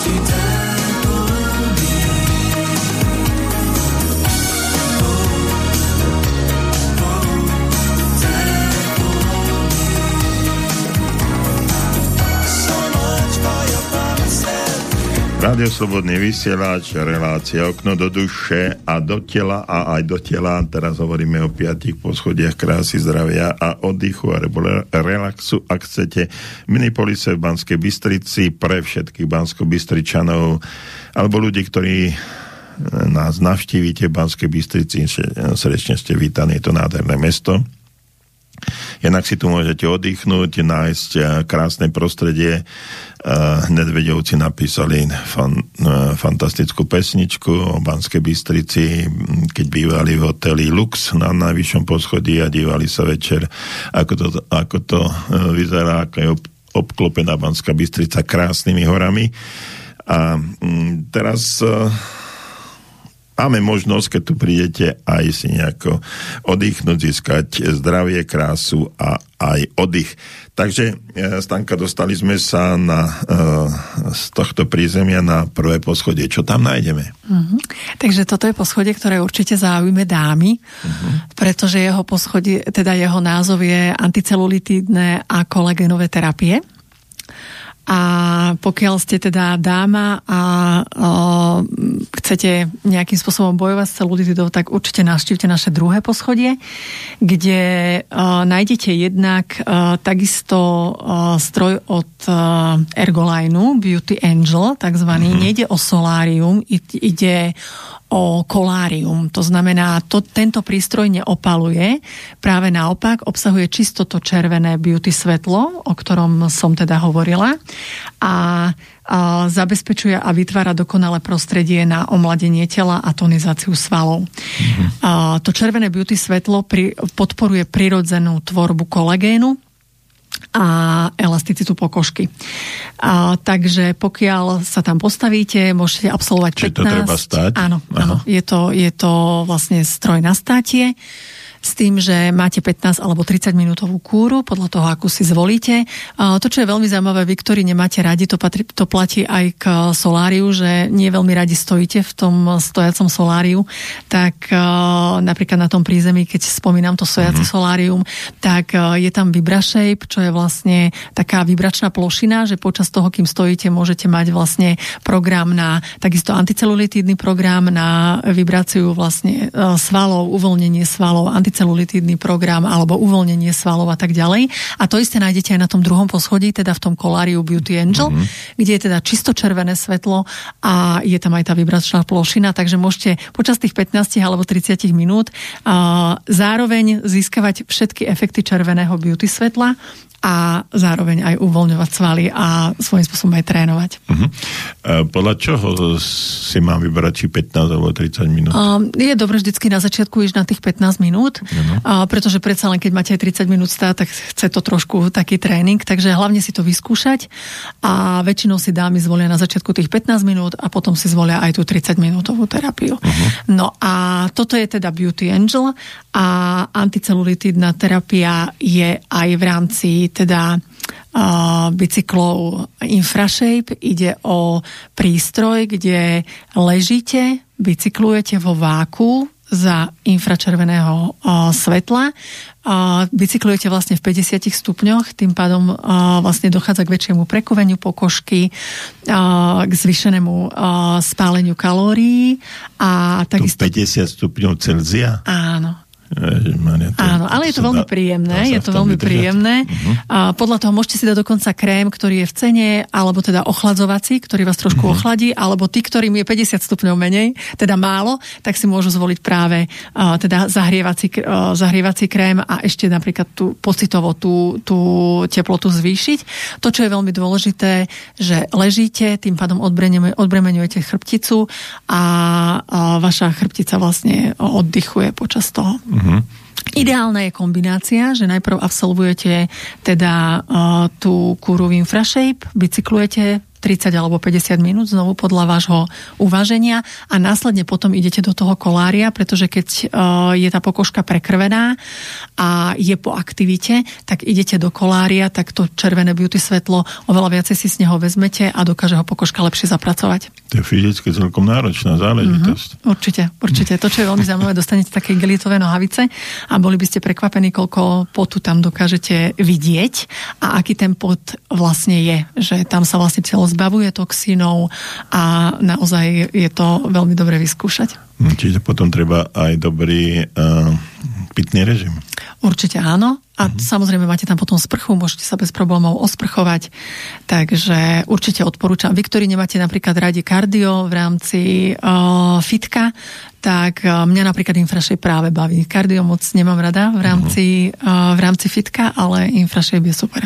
Rádio Slobodný vysielač, relácia Okno do duše a do tela a aj do tela. Teraz hovoríme o 5 poschodiach krásy, zdravia a oddychu a relaxu. Ak chcete Minipolise v Banskej Bystrici pre všetkých Banskobystričanov alebo ľudí, ktorí nás navštívite v Banskej Bystrici, srdečne ste vítaní, je to nádherné mesto. Jednak si tu môžete oddychnúť, nájsť krásne prostredie. Nedvedovci napísali fantastickú pesničku o Banskej Bystrici, keď bývali v hoteli Lux na najvyššom poschodí a dívali sa večer, ako to vyzerá, ako je obklopená Banská Bystrica krásnymi horami. A teraz máme možnosť, keď tu prídete, aj si nejako oddychnúť, získať zdravie, krásu a aj oddych. Takže, Stanka, dostali sme sa z tohto prízemia na prvé poschodie. Čo tam nájdeme? Takže toto je poschodie, ktoré určite zaujíme dámy, pretože jeho poschodie, teda jeho názov je anticelulitidné a kolagénové terapie. A pokiaľ ste teda dáma a chcete nejakým spôsobom bojovať s celulitidou, tak určite navštívte naše druhé poschodie, kde nájdete jednak takisto stroj od Ergolineu, Beauty Angel, takzvaný. Nejde o solárium, ide o kolárium. To znamená, tento prístroj neopaluje, práve naopak obsahuje čisto to červené beauty svetlo, o ktorom som teda hovorila, a zabezpečuje a vytvára dokonalé prostredie na omladenie tela a tonizáciu svalov. To červené beauty svetlo podporuje prirodzenú tvorbu kolagénu a elasticitu pokožky. Takže pokiaľ sa tam postavíte, môžete absolvovať 15. Čiže to treba stáť? Áno. Je to vlastne stroj na státie, s tým, že máte 15 alebo 30 minútovú kúru, podľa toho, akú si zvolíte. To, čo je veľmi zaujímavé, vy, ktorí nemáte radi, to platí aj k soláriu, že nie veľmi radi stojíte v tom stojacom soláriu, tak napríklad na tom prízemí, keď spomínam to stojace solárium, tak je tam VibraShape, čo je vlastne taká vibračná plošina, že počas toho, kým stojíte, môžete mať vlastne program na takisto anticelulitidný program na vibráciu vlastne svalov, uvoľnenie svalov, anticelulitidný program alebo uvoľnenie svalov a tak ďalej. A to isté nájdete aj na tom druhom poschodí, teda v tom koláriu Beauty Angel, kde je teda čisto červené svetlo a je tam aj tá vibračná plošina, takže môžete počas tých 15 alebo 30 minút zároveň získavať všetky efekty červeného beauty svetla a zároveň aj uvoľňovať svaly a svojím spôsobom aj trénovať. Podľa čoho si mám vybrať, či 15 alebo 30 minút? Je dobre vždycky na začiatku ísť na tých 15 minút, pretože predsa len keď máte aj 30 minút stáť, tak chce to trošku taký tréning, takže hlavne si to vyskúšať a väčšinou si dámy zvolia na začiatku tých 15 minút a potom si zvolia aj tú 30 minútovú terapiu. No a toto je teda Beauty Angel a anticelulitidná terapia je aj v rámci teda bicyklov InfraShape. Ide o prístroj, kde ležíte, bicyklujete vo váku za infračerveného svetla. Bicyklujete vlastne v 50 stupňoch, tým pádom vlastne dochádza k väčšiemu prekoveniu pokožky, k zvýšenému spáleniu kalórií a takisto... 50 stupňov Celzia? Áno. Áno, ale je to veľmi príjemné. Je to veľmi príjemné. Podľa toho môžete si dať dokonca krém, ktorý je v cene, alebo teda ochladzovací, ktorý vás trošku ochladí, alebo tí, ktorým je 50 stupňov menej, teda málo, tak si môžu zvoliť práve teda zahrievací krém a ešte napríklad tú pocitovo tú teplotu zvýšiť. To, čo je veľmi dôležité, že ležíte, tým pádom odbremeňujete chrbticu a vaša chrbtica vlastne oddychuje počas toho. Ideálna je kombinácia, že najprv absolvujete teda tú kúru v InfraShape, bicyklujete 30 alebo 50 minút, znovu podľa vášho uváženia a následne potom idete do toho kolária, pretože keď je tá pokožka prekrvená a je po aktivite, tak idete do kolária, tak to červené beauty svetlo oveľa viacej si z neho vezmete a dokáže ho pokožka lepšie zapracovať. To je fyzicky celkom náročná záležitosť. Určite. To, čo je veľmi zaujímavé, dostanete také gelitové nohavice a boli by ste prekvapení, koľko potu tam dokážete vidieť a aký ten pot vlastne je. Že tam sa vlastne telo zbavuje toxínov a naozaj je to veľmi dobre vyskúšať. Čiže potom treba aj dobrý pitný režim. Určite áno. A samozrejme máte tam potom sprchu, môžete sa bez problémov osprchovať. Takže určite odporúčam. Vy, ktorí nemáte napríklad radi kardio v rámci fitka, tak mňa napríklad infrašej práve baví. Kardio moc nemám rada v rámci fitka, ale infrašej je super.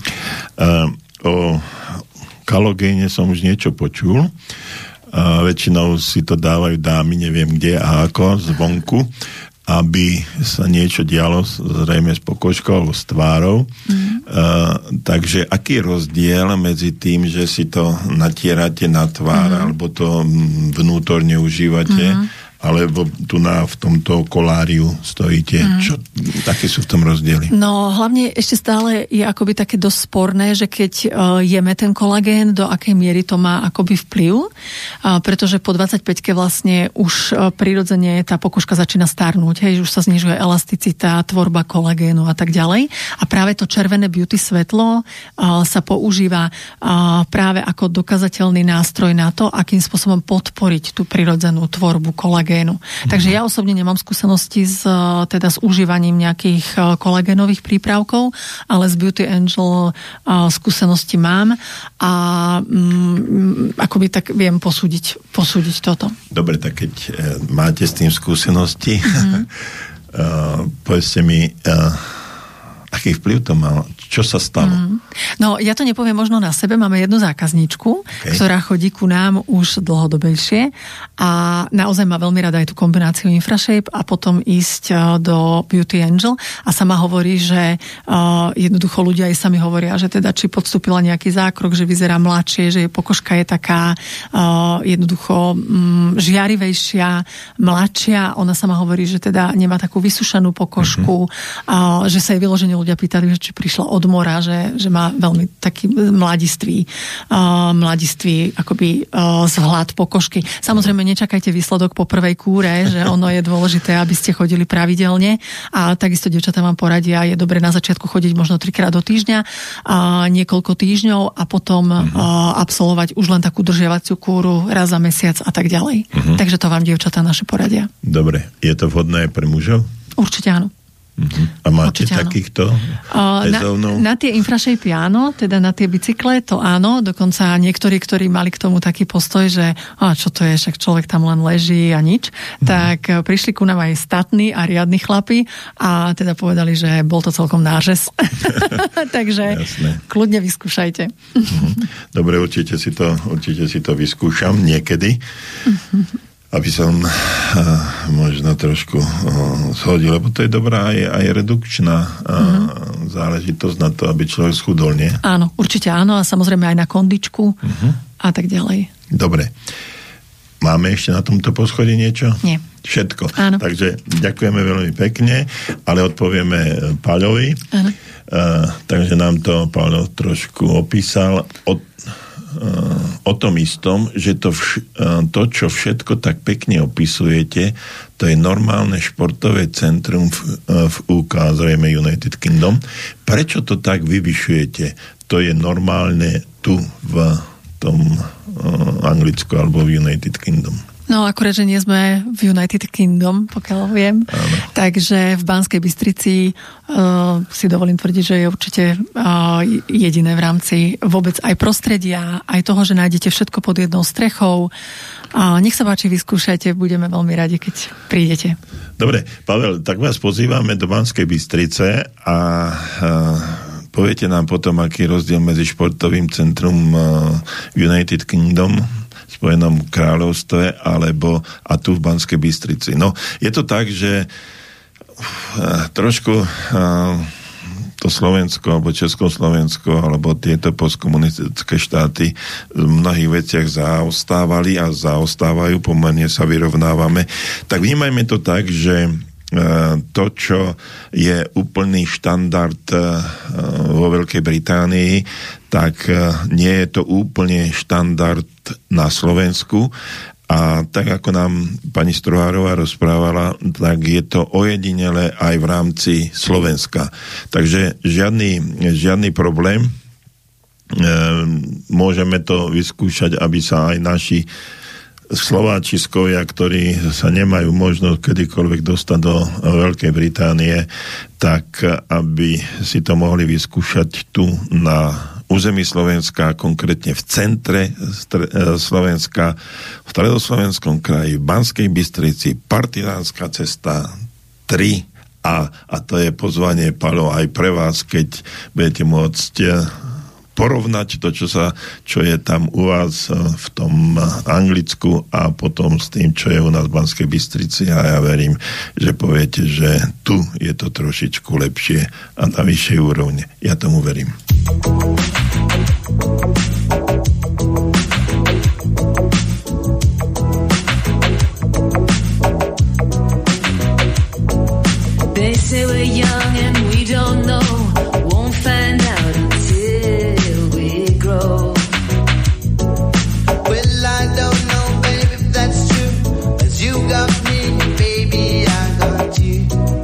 O kalogéne som už niečo počul. Väčšinou si to dávajú dámy, neviem kde a ako, zvonku, aby sa niečo dialo zrejme s pokožkou alebo s tvárou. Takže aký je rozdiel medzi tým, že si to natierate na tvár alebo to vnútorne užívate, alebo tu v tomto koláriu stojíte. Čo, také sú v tom rozdiely? No, hlavne ešte stále je akoby také dosť sporné, že keď jeme ten kolagén, do akej miery to má akoby vplyv, pretože po 25-ke vlastne už prirodzene tá pokožka začína starnúť, hej, už sa znižuje elasticita, tvorba kolagénu a tak ďalej. A práve to červené beauty svetlo sa používa práve ako dokazateľný nástroj na to, akým spôsobom podporiť tú prirodzenú tvorbu kolagénu. Takže ja osobne nemám skúsenosti s užívaním nejakých kolagénových prípravkov, ale z Beauty Angel skúsenosti mám a akoby tak viem posúdiť toto. Dobre, tak keď máte s tým skúsenosti, povedzte mi, aký vplyv to mal? Čo sa stalo? No, ja to nepoviem možno na sebe. Máme jednu zákazníčku, ktorá chodí ku nám už dlhodobejšie a naozaj má veľmi rada aj tú kombináciu Infrashape a potom ísť do Beauty Angel a sama hovorí, že jednoducho ľudia aj sami hovoria, že teda či podstúpila nejaký zákrok, že vyzerá mladšie, že jej pokožka je taká jednoducho žiarivejšia, mladšia. Ona sama hovorí, že teda nemá takú vysušanú pokožku, že sa jej vyložene ľudia pýtali, že či prišla od mora, že má veľmi taký mladistvý akoby vzhľad pokožky. Samozrejme, nečakajte výsledok po prvej kúre, že ono je dôležité, aby ste chodili pravidelne a takisto dievčatá vám poradia, je dobre na začiatku chodiť možno 3-krát do týždňa, niekoľko týždňov a potom absolvovať už len takú držiavaciu kúru raz za mesiac a tak ďalej. Takže to vám dievčatá naše poradia. Dobre. Je to vhodné pre mužov? Určite áno. A máte takýchto ezónov? Na tie Infrashape áno, teda na tie bicykle to áno, dokonca niektorí, ktorí mali k tomu taký postoj, že čo to je, však človek tam len leží a nič, tak prišli ku nám aj statní a riadni chlapi a teda povedali, že bol to celkom nážes. Takže kľudne vyskúšajte. Dobre, určite si to vyskúšam niekedy. Aby som možno trošku shodil, lebo to je dobrá aj redukčná záležitosť na to, aby človek schudol, nie? Áno, určite áno a samozrejme aj na kondičku a tak ďalej. Dobre. Máme ešte na tomto poschodí niečo? Nie. Všetko. Áno. Takže ďakujeme veľmi pekne, ale odpovieme Paľovi. Áno. Takže nám to Paľo trošku opísal o tom istom, že to, čo všetko tak pekne opisujete, to je normálne športové centrum v UK, zrejme United Kingdom. Prečo to tak vyvyšujete? To je normálne tu v tom Anglicku alebo v United Kingdom. No, akorát, že nie sme v United Kingdom, pokiaľ viem. Áno. Takže v Banskej Bystrici si dovolím tvrdiť, že je určite jediné v rámci vôbec aj prostredia, aj toho, že nájdete všetko pod jednou strechou. Nech sa páči, vyskúšajte, budeme veľmi radi, keď prídete. Dobre, Pavel, tak vás pozývame do Banskej Bystrice a poviete nám potom, aký je rozdiel medzi športovým centrum United Kingdom Spojenom kráľovstve alebo a tu v Banskej Bystrici. No, je to tak, že trošku to Slovensko alebo Československo alebo tieto postkomunistické štáty v mnohých veciach zaostávali a zaostávajú, pomerne sa vyrovnávame, tak vnímajme to tak, že to, čo je úplný štandard vo Veľkej Británii, tak nie je to úplne štandard na Slovensku. A tak, ako nám pani Strohárová rozprávala, tak je to ojedinele aj v rámci Slovenska. Takže žiadny problém. Môžeme to vyskúšať, aby sa aj naši Slováčiskovia, ktorí sa nemajú možnosť kedykoľvek dostať do Veľkej Británie, tak aby si to mohli vyskúšať tu na území Slovenska, konkrétne v centre Slovenska, v stredoslovenskom kraji, v Banskej Bystrici, Partizánska cesta 3 a to je pozvanie, Paľo, aj pre vás, keď budete môcť porovnať to, čo je tam u vás v tom Anglicku a potom s tým, čo je u nás v Banskej Bystrici, a ja verím, že poviete, že tu je to trošičku lepšie a na vyššej úrovni. Ja tomu verím. They say we're young and we don't know, won't find out until we grow. Well, I don't know, baby, if that's true, 'cause you got me, baby, I got you.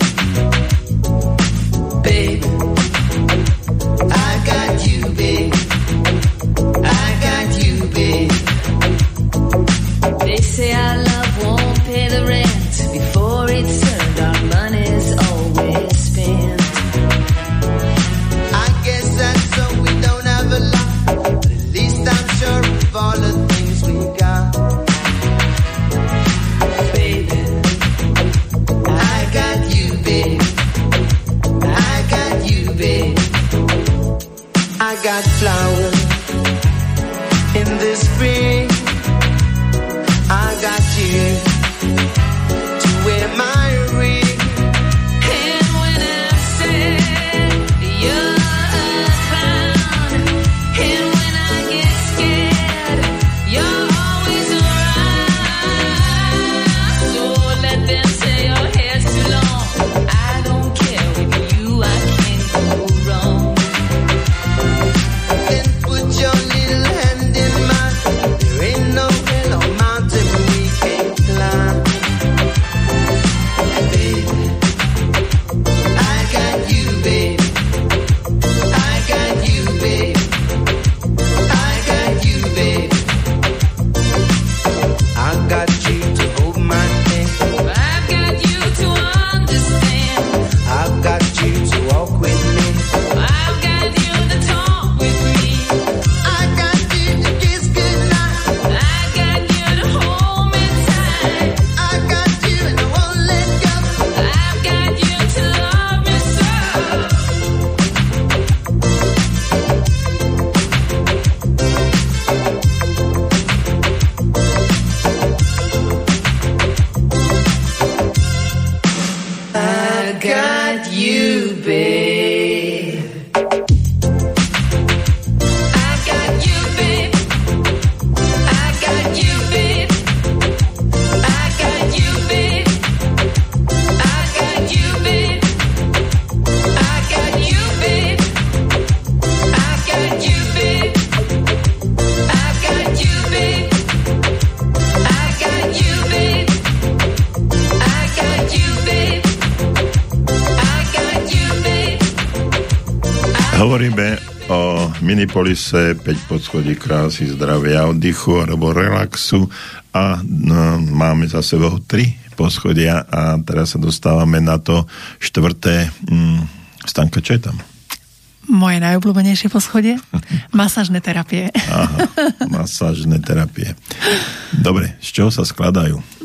Babe, I got you, babe. I got you, babe. They say our love won't pay the rent before it's earned. Our money's always spent. I guess that's so we don't have a lot, but at least I'm sure of all the things we got. Baby, I got you, babe. I got you, babe. I got flowers in the spring. I got you to wear my ring. And when I say you're around, and when I get scared, you're always around. So let them say your hair's too long. I don't care, with you I can't go wrong. Then put your little hand in mine. There ain't no hill or mountain we can't climb. Baby, I got you, babe. I got you, babe. I got you, babe. I got you to hold my hand. I've got you to understand. I've got you to walk with me. I've got you to talk with me. I got you to kiss goodnight. I got you to hold me tight. I got you and I won't let go. I've got you to love me so. I got you, babe. I got you, babe. I got you, babe. I got you, babe. I got you, babe. I got you, babe. I got you, babe. I got you, babe. I got you, babe. I got you, babe. I got you, babe. Hovoríme o Minipolise, 5 podschodí krásy, zdravia, oddychu alebo relaxu a máme za sebou 3 poschodia a teraz sa dostávame na to 4. Stanka, čo je tam? Moje najobľúbenejšie poschodie? Masážne terapie. Aha, masážne terapie. Dobre, z čoho sa skladajú?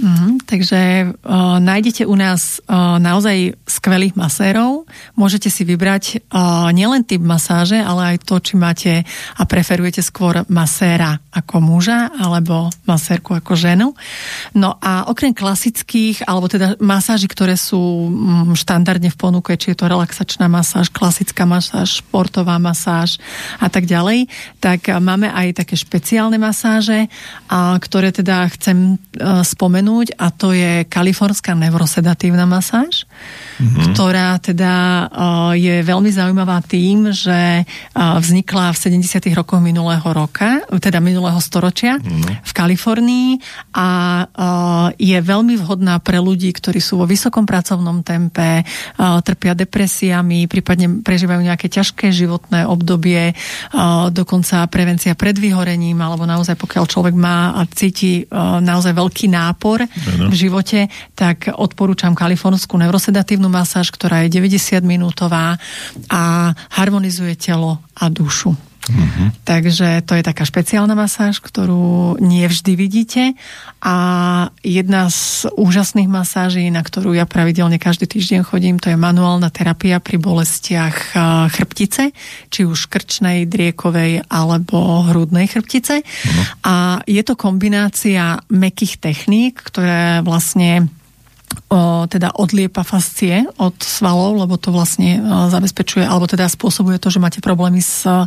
takže nájdete u nás naozaj skvelých masérov. Môžete si vybrať nielen typ masáže, ale aj to, či máte a preferujete skôr maséra ako muža alebo masérku ako ženu. No a okrem klasických, alebo teda masáži, ktoré sú štandardne v ponuke, či je to relaxačná masáž, klasická masáž, športová masáž a tak ďalej, tak máme aj také špeciálne masáže, ktoré teda chcem spomenúť, a to je kalifornská neurosedatívna masáž, ktorá teda je veľmi zaujímavá tým, že vznikla v 70. rokoch minulého storočia v Kalifornii a je veľmi vhodná pre ľudí, ktorí sú vo vysokom pracovnom tempe, trpia depresiami, prípadne prežívajú nejaké ťažké životné obdobie, dokonca prevencia pred vyhorením, alebo naozaj pokiaľ človek má a cíti naozaj veľký nápor v živote, tak odporúčam kalifornskú neurosedatívnu masáž, ktorá je 90-minútová a harmonizuje telo a dušu. Takže to je taká špeciálna masáž, ktorú nie vždy vidíte, a jedna z úžasných masáží, na ktorú ja pravidelne každý týždeň chodím, to je manuálna terapia pri bolestiach chrbtice, či už krčnej, driekovej alebo hrudnej chrbtice. A je to kombinácia mäkkých techník, ktoré vlastne teda odliepa fascie od svalov, lebo to vlastne zabezpečuje, alebo teda spôsobuje to, že máte problémy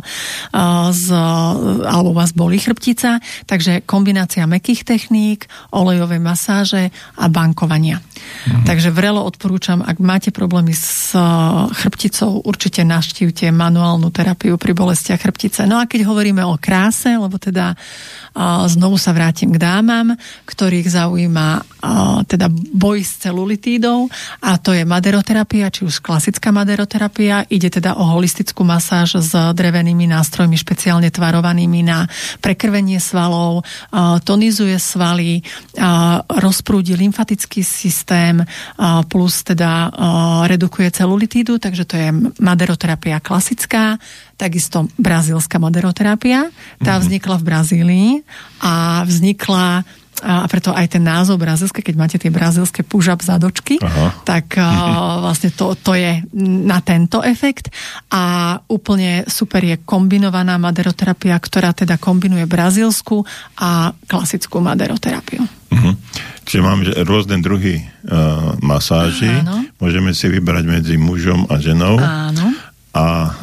alebo vás bolí chrbtica, takže kombinácia mäkkých techník, olejovej masáže a bankovania. Takže vrelo odporúčam, ak máte problémy s chrbticou, určite navštívte manuálnu terapiu pri bolestiach chrbtice. No a keď hovoríme o kráse, lebo teda znovu sa vrátim k dámam, ktorých zaujíma teda boj s celulitídou, a to je maderoterapia, či už klasická maderoterapia. Ide teda o holistickú masáž s drevenými nástrojmi špeciálne tvarovanými na prekrvenie svalov, tonizuje svaly, rozprúdi lymfatický systém, plus teda redukuje celulitídu, takže to je maderoterapia klasická. Takisto brazílska maderoterapia. Tá vznikla v Brazílii a vznikla, a preto aj ten názov brazílske, keď máte tie brazílske push-up zadočky, tak vlastne to je na tento efekt. A úplne super je kombinovaná maderoterapia, ktorá teda kombinuje brazílsku a klasickú maderoterapiu. Čiže máme rôzne druhy masáží. Áno. Môžeme si vybrať medzi mužom a ženou. Áno. A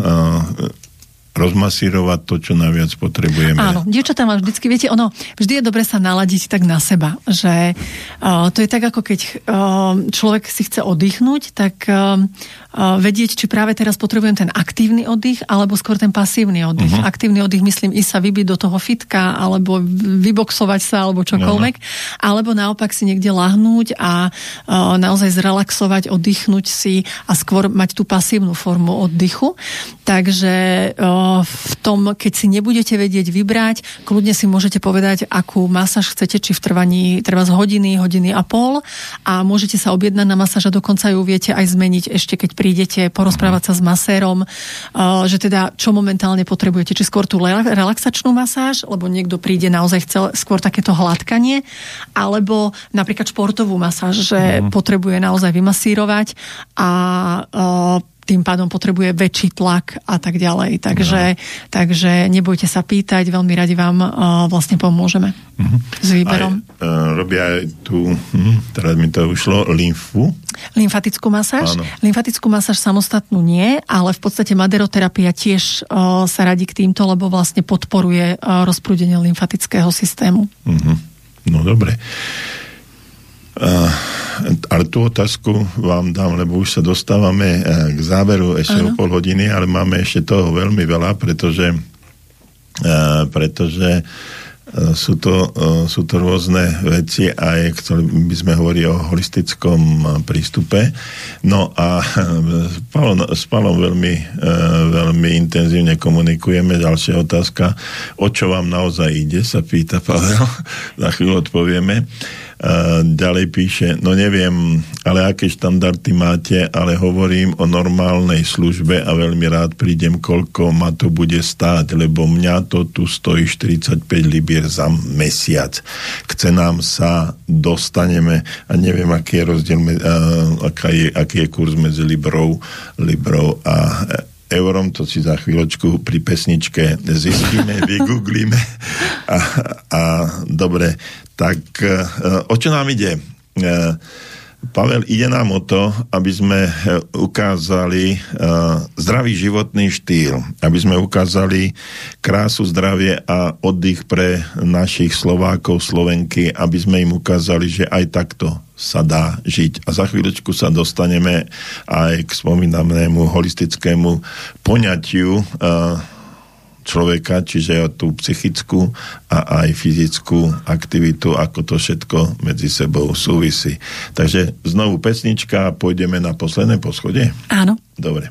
rozmasírovať to, čo najviac potrebujeme. Áno, dievčatá má vždycky, viete, vždy je dobre sa naladiť tak na seba, že to je tak, ako keď človek si chce oddychnúť, tak vedieť, či práve teraz potrebujem ten aktívny oddych, alebo skôr ten pasívny oddych. Aktívny oddych, myslím, ísť sa vybiť do toho fitka, alebo vyboxovať sa, alebo čokoľvek, alebo naopak si niekde lahnúť a naozaj zrelaxovať, oddychnúť si a skôr mať tú pasívnu formu oddychu. Takže v tom, keď si nebudete vedieť vybrať, kľudne si môžete povedať, akú masáž chcete, či v trvaní treba z hodiny a pol, a môžete sa objednať na masáž a dokonca ju viete aj zmeniť ešte, keď prídete porozprávať sa s masérom, že teda čo momentálne potrebujete, či skôr tú relaxačnú masáž, lebo niekto príde naozaj skôr takéto hladkanie, alebo napríklad športovú masáž, že potrebuje naozaj vymasírovať a tým pádom potrebuje väčší tlak a tak ďalej. Takže nebojte sa pýtať, veľmi radi vám vlastne pomôžeme s výberom. Robia aj tú, teraz mi to ušlo, lymfatickú masáž. Áno. Lymfatickú masáž samostatnú nie, ale v podstate maderoterapia tiež sa radí k týmto, lebo vlastne podporuje rozprúdenie lymfatického systému. No dobre. Ale tú otázku vám dám, lebo už sa dostávame k záveru ešte o pol hodiny, ale máme ešte toho veľmi veľa, pretože sú to rôzne veci, aj ktoré by sme hovorili o holistickom prístupe. No a s Palom veľmi intenzívne komunikujeme. Ďalšia otázka, o čo vám naozaj ide, sa pýta Pavel. Za chvíľu odpovieme. Ďalej píše, no neviem, ale aké štandardy máte, ale hovorím o normálnej službe a veľmi rád prídem, koľko ma to bude stáť, lebo mňa to tu stojí 45 libier za mesiac. K cenám sa dostaneme a neviem, aký je rozdiel, aký je kurz medzi librou a eurom, to si za chvíľočku pri pesničke zistíme, vygooglíme a dobre, tak o čo nám ide? Pavel, ide nám o to, aby sme ukázali zdravý životný štýl, aby sme ukázali krásu, zdravie a oddych pre našich Slovákov, Slovenky, aby sme im ukázali, že aj takto sa dá žiť. A za chvíľočku sa dostaneme aj k spomínanému holistickému poňatiu človeka, čiže tú psychickú a aj fyzickú aktivitu, ako to všetko medzi sebou súvisí. Takže znovu pesnička a pôjdeme na posledné poschodie? Áno. Dobre.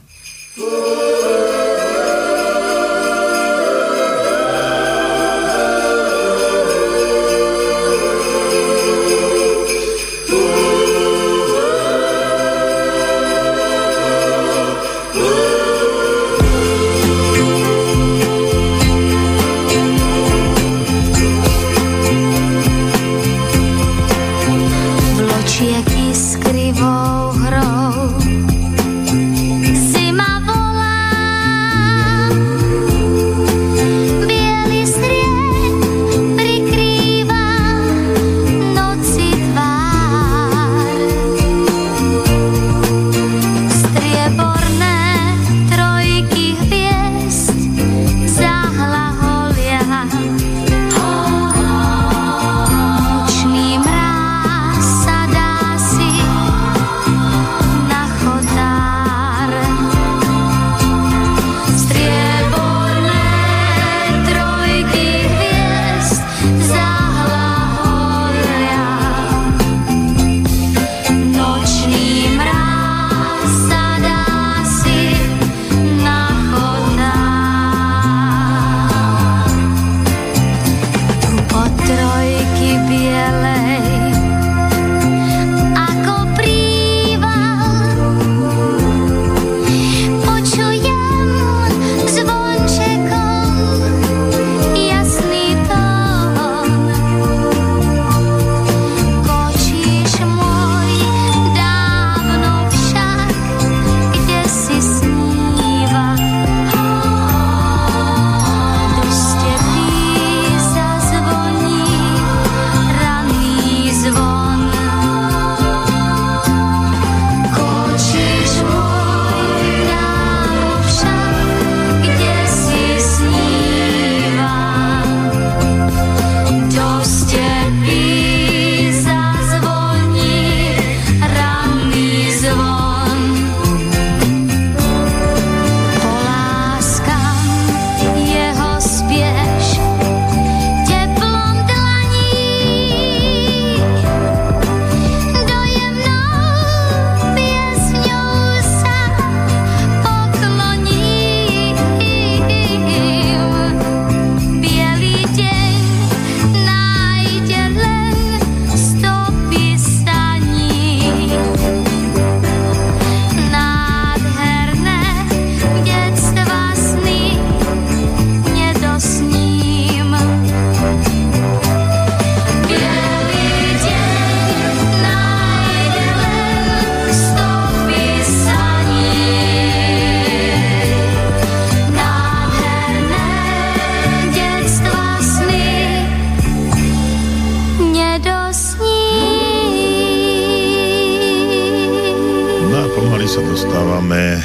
Dostávame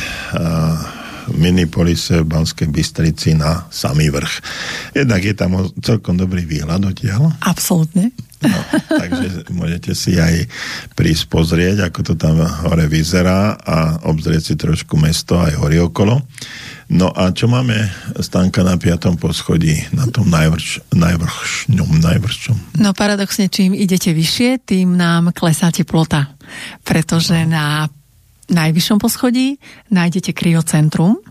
Minipolise v Banskej Bystrici na samý vrch. Jednak je tam celkom dobrý výhľad odtiaľ. Absolútne. No, takže môžete si aj prísť pozrieť, ako to tam hore vyzerá a obzrieť si trošku mesto aj hory okolo. No a čo máme, Stanka, na 5. poschodí, na tom najvršňom? No paradoxne, čím idete vyššie, tým nám klesá teplota. Pretože na najvyššom poschodí nájdete kryocentrum,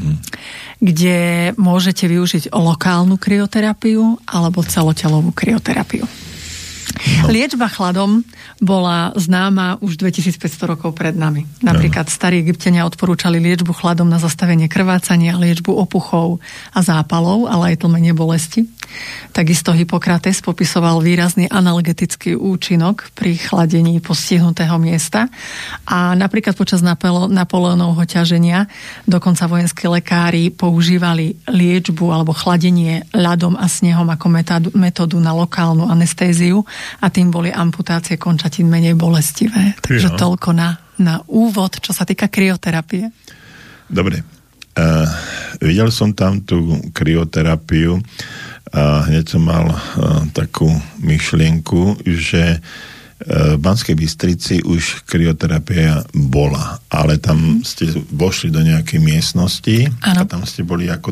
kde môžete využiť lokálnu kryoterapiu alebo celotelovú kryoterapiu. Liečba chladom bola známa už 2500 rokov pred nami. Napríklad starí Egypťania odporúčali liečbu chladom na zastavenie krvácania, liečbu opuchov a zápalov, ale aj tlmenie bolesti. Takisto Hippokrates popisoval výrazný analgetický účinok pri chladení postihnutého miesta a napríklad počas Napoleónovho ťaženia dokonca vojenskí lekári používali liečbu alebo chladenie ľadom a snehom ako metódu na lokálnu anestéziu a tým boli amputácie končatín menej bolestivé. Takže toľko na úvod, čo sa týka kryoterapie. Dobre. Videl som tam tú kryoterapiu a hneď som mal takú myšlienku, že v Banskej Bystrici už kryoterapia bola, ale tam ste vošli do nejakej miestnosti a tam ste boli ako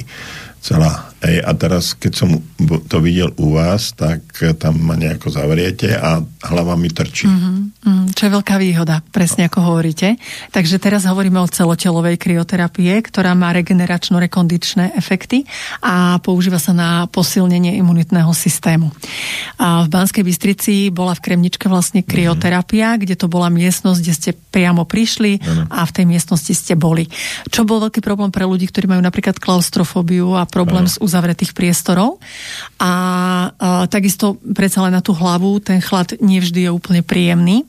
celá. A teraz, keď som to videl u vás, tak tam ma nejako zavriete a hlava mi trčí. Čo je veľká výhoda, presne ako hovoríte. Takže teraz hovoríme o celotelovej kryoterapie, ktorá má regeneračno-rekondičné efekty a používa sa na posilnenie imunitného systému. A v Banskej Bystrici bola v Kremničke vlastne kryoterapia, kde to bola miestnosť, kde ste priamo prišli a v tej miestnosti ste boli. Čo bol veľký problém pre ľudí, ktorí majú napríklad klaustrofóbiu a problém z uzavretých priestorov. A takisto predsa len na tú hlavu ten chlad nevždy je úplne príjemný.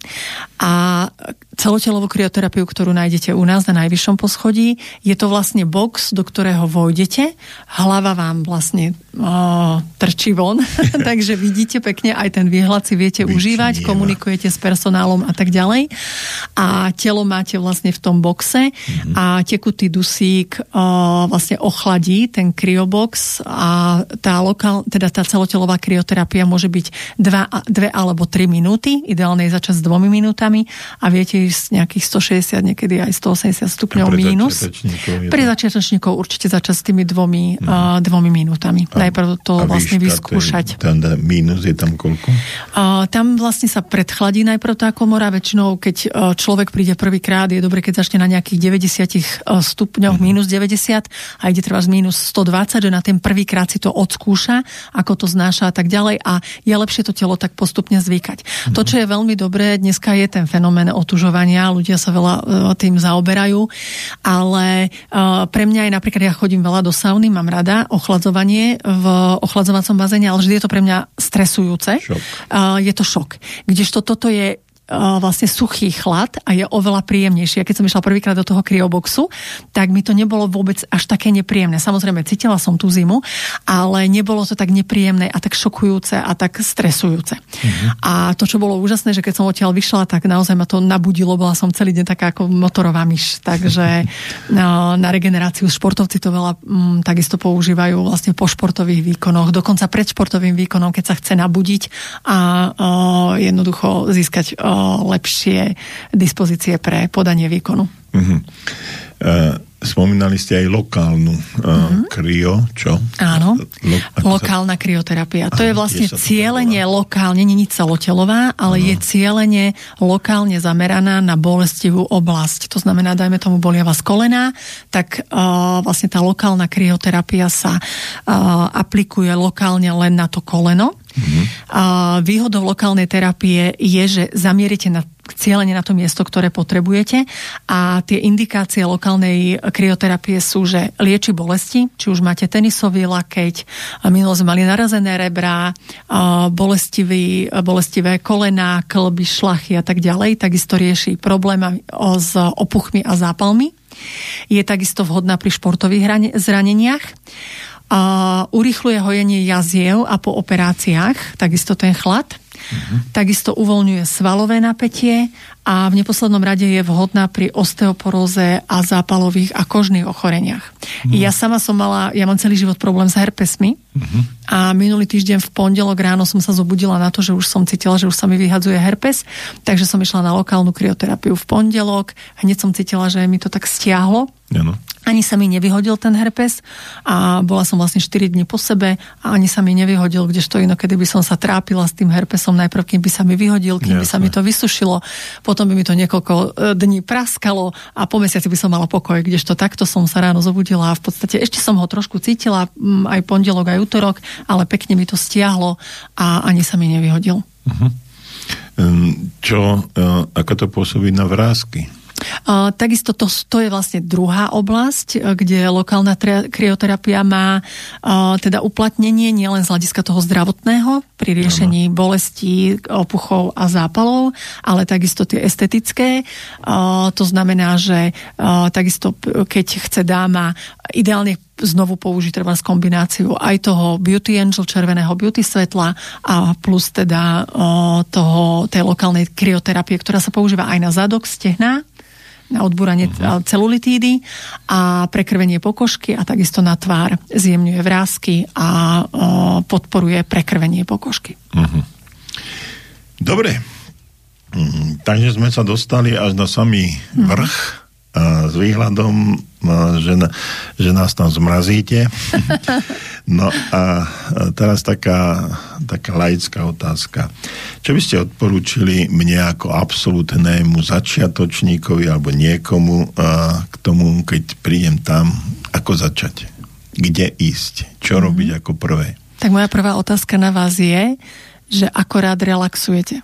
A celotelovú kryoterapiu, ktorú nájdete u nás na najvyššom poschodí, je to vlastne box, do ktorého vojdete. Hlava vám vlastne trčí von, takže vidíte pekne, aj ten výhľad si viete užívať, komunikujete s personálom a tak ďalej. A telo máte vlastne v tom boxe a tekutý dusík vlastne ochladí ten kryobox a tá celotelová kryoterapia môže byť 2 alebo 3 minúty, ideálne je začať s 2 minútami a viete ísť nejakých 160, niekedy aj 180 stupňov mínus. Pre začiatočníkov určite začať s tými 2 minútami. Najprv to vlastne vyskúšať. Tam mínus je tam koľko? Tam vlastne sa predchladí najprv tá komora. Väčšinou, keď človek príde prvýkrát, je dobre, keď začne na nejakých 90 stupňoch, mínus 90 a ide treba z mínus 120, že na ten prvýkrát si to odskúša, ako to znáša a tak ďalej a je lepšie to telo tak postupne zvykať. To, čo je veľmi dobré, dneska je ten fenomén otužovania, ľudia sa veľa tým zaoberajú, ale pre mňa je napríklad, ja chodím veľa do sauny, mám rada ochladzovanie v ochladzovacom bazéne, ale vždy je to pre mňa stresujúce. Je to šok. Kdežto toto je vlastne suchý chlad a je oveľa príjemnejší. A keď som išla prvýkrát do toho kryoboxu, tak mi to nebolo vôbec až také nepríjemné. Samozrejme, cítila som tú zimu, ale nebolo to tak nepríjemné a tak šokujúce a tak stresujúce. A to, čo bolo úžasné, že keď som odtiaľ vyšla, tak naozaj ma to nabudilo. Bola som celý deň taká ako motorová myš. Takže na regeneráciu športovci to veľa takisto používajú vlastne po športových výkonoch, dokonca pred športovým výkonom, keď sa chce nabudiť a jednoducho získať lepšie dispozície pre podanie výkonu. Spomínali ste aj lokálnu kryo, čo? Áno, lokálna kryoterapia. To je vlastne cielene lokálne, nie je celotelová, ale je cielene lokálne zameraná na bolestivú oblasť. To znamená, dajme tomu bolia vás kolená, tak vlastne tá lokálna kryoterapia sa aplikuje lokálne len na to koleno. Výhodou lokálnej terapie je, že zamierite cieľene na to miesto, ktoré potrebujete a tie indikácie lokálnej kryoterapie sú, že lieči bolesti, či už máte tenisový lakeť, minulo sme mali narazené rebrá, bolestivé kolená, kĺby, šlachy a tak ďalej, takisto rieši problémy s opuchmi a zápalmi. Je takisto vhodná pri športových zraneniach. Urýchľuje hojenie jaziev a po operáciách, takisto ten chlad. Takisto uvoľňuje svalové napätie a v neposlednom rade je vhodná pri osteoporóze a zápalových a kožných ochoreniach. Ja sama mám celý život problém s herpesmi a minulý týždeň v pondelok ráno som sa zobudila na to, že už som cítila, že už sa mi vyhadzuje herpes, takže som išla na lokálnu kryoterapiu v pondelok, hneď som cítila, že mi to tak stiahlo. Ani sa mi nevyhodil ten herpes a bola som vlastne 4 dní po sebe a ani sa mi nevyhodil, kdežto inokedy by som sa trápila s tým herpesom najprv, kým by sa mi vyhodil, kým by sa mi to vysušilo, potom by mi to niekoľko dní praskalo a po mesiaci by som mala pokoj, kdežto takto som sa ráno zobudila a v podstate ešte som ho trošku cítila aj pondelok, aj utorok, ale pekne mi to stiahlo a ani sa mi nevyhodil. Ako to pôsobí na vrásky? Takisto to je vlastne druhá oblasť, kde lokálna krioterapia má teda uplatnenie nielen z hľadiska toho zdravotného pri riešení bolestí, opuchov a zápalov, ale takisto tie estetické. To znamená, že takisto keď chce dáma ideálne znovu použiť treba z kombináciu aj toho Beauty Angel, červeného beauty svetla a plus teda tej lokálnej krioterapie, ktorá sa používa aj na zadok, stehná, na odbúranie celulitídy a prekrvenie pokožky a takisto na tvár zjemňuje vrásky a podporuje prekrvenie pokožky. Dobre. Takže sme sa dostali až na samý vrch s výhľadom, že nás tam zmrazíte. No a teraz taká laická otázka. Čo by ste odporúčili mne ako absolútnemu začiatočníkovi alebo niekomu k tomu, keď prídem tam, ako začať? Kde ísť? Čo robiť ako prvé? Tak moja prvá otázka na vás je, že ako rád relaxujete?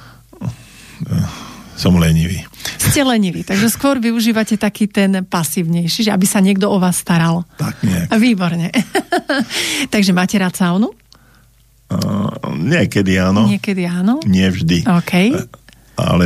Som lenivý. Ste leniví, takže skôr využívate taký ten pasívnejší, že aby sa niekto o vás staral. Tak nejak. Výborne. Takže máte rád saunu? Niekedy áno. Niekedy áno? Nie vždy. OK. Ale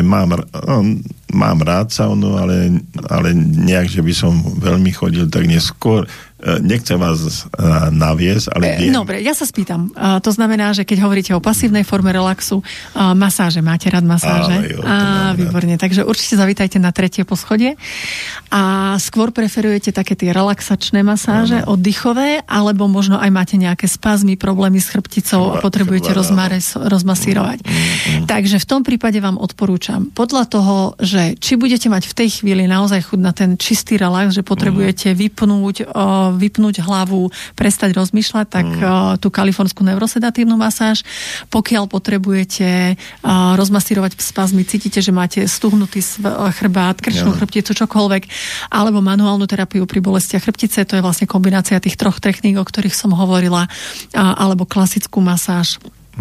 mám rád saunu, ale nejak, že by som veľmi chodil, tak neskôr. Nechcem vás naviesť, ale viem. Dobre, ja sa spýtam. To znamená, že keď hovoríte o pasívnej forme relaxu, masáže, máte rád masáže? Výborne. Takže určite zavítajte na 3. poschodie. A skôr preferujete také tie relaxačné masáže, oddychové, alebo možno aj máte nejaké spazmy, problémy s chrbticou a potrebujete rozmasírovať. Takže v tom prípade vám odporúčam, podľa toho, že či budete mať v tej chvíli naozaj chuť na ten čistý relax, že potrebujete vypnúť hlavu, prestať rozmýšľať, tak tú kalifornskú neurosedatívnu masáž. Pokiaľ potrebujete rozmasírovať spazmy, cítite, že máte stuhnutý chrbát, krčnú chrbticu, čokoľvek, alebo manuálnu terapiu pri bolestiach chrbtice, to je vlastne kombinácia tých 3 techník, o ktorých som hovorila, alebo klasickú masáž.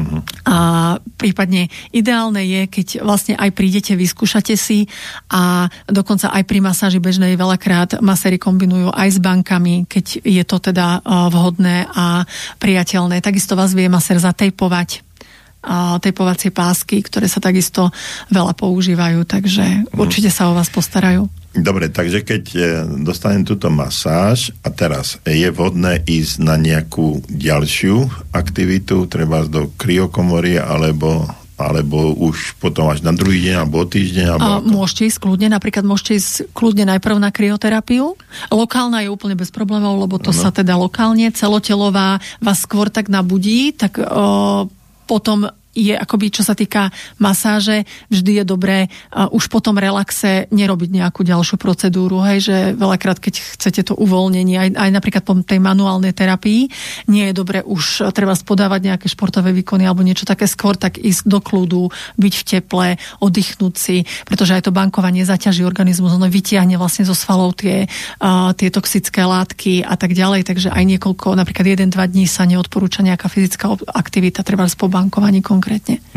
A prípadne ideálne je, keď vlastne aj prídete, vyskúšate si a dokonca aj pri masáži bežnej veľakrát maséri kombinujú aj s bankami, keď je to teda vhodné a priateľné. Takisto vás vie masér zatejpovať, tejpovacie pásky, ktoré sa takisto veľa používajú, takže určite sa o vás postarajú. Dobre, takže keď dostanem túto masáž a teraz je vhodné ísť na nejakú ďalšiu aktivitu, treba do kryokomory alebo už potom až na druhý deň alebo týždeň? Môžete ísť kľudne, napríklad môžete ísť kľudne najprv na kryoterapiu. Lokálna je úplne bez problémov, lebo to sa teda lokálne, celotelová vás skôr tak nabudí, tak potom je akoby, čo sa týka masáže, vždy je dobré už po tom relaxe nerobiť nejakú ďalšiu procedúru, hej, že veľakrát, keď chcete to uvoľnenie, aj napríklad po tej manuálnej terapii, nie je dobré už treba spodávať nejaké športové výkony alebo niečo také, skôr tak ísť do kľudu, byť v teple, oddychnúť si, pretože aj to bankovanie zaťaží organizmus, ono vytiahne vlastne zo svalov tie toxické látky a tak ďalej, takže aj niekoľko, napríklad 1-2 dní sa neodporúča nejaká fyzická aktivita, treba po bankovaní konkrétne.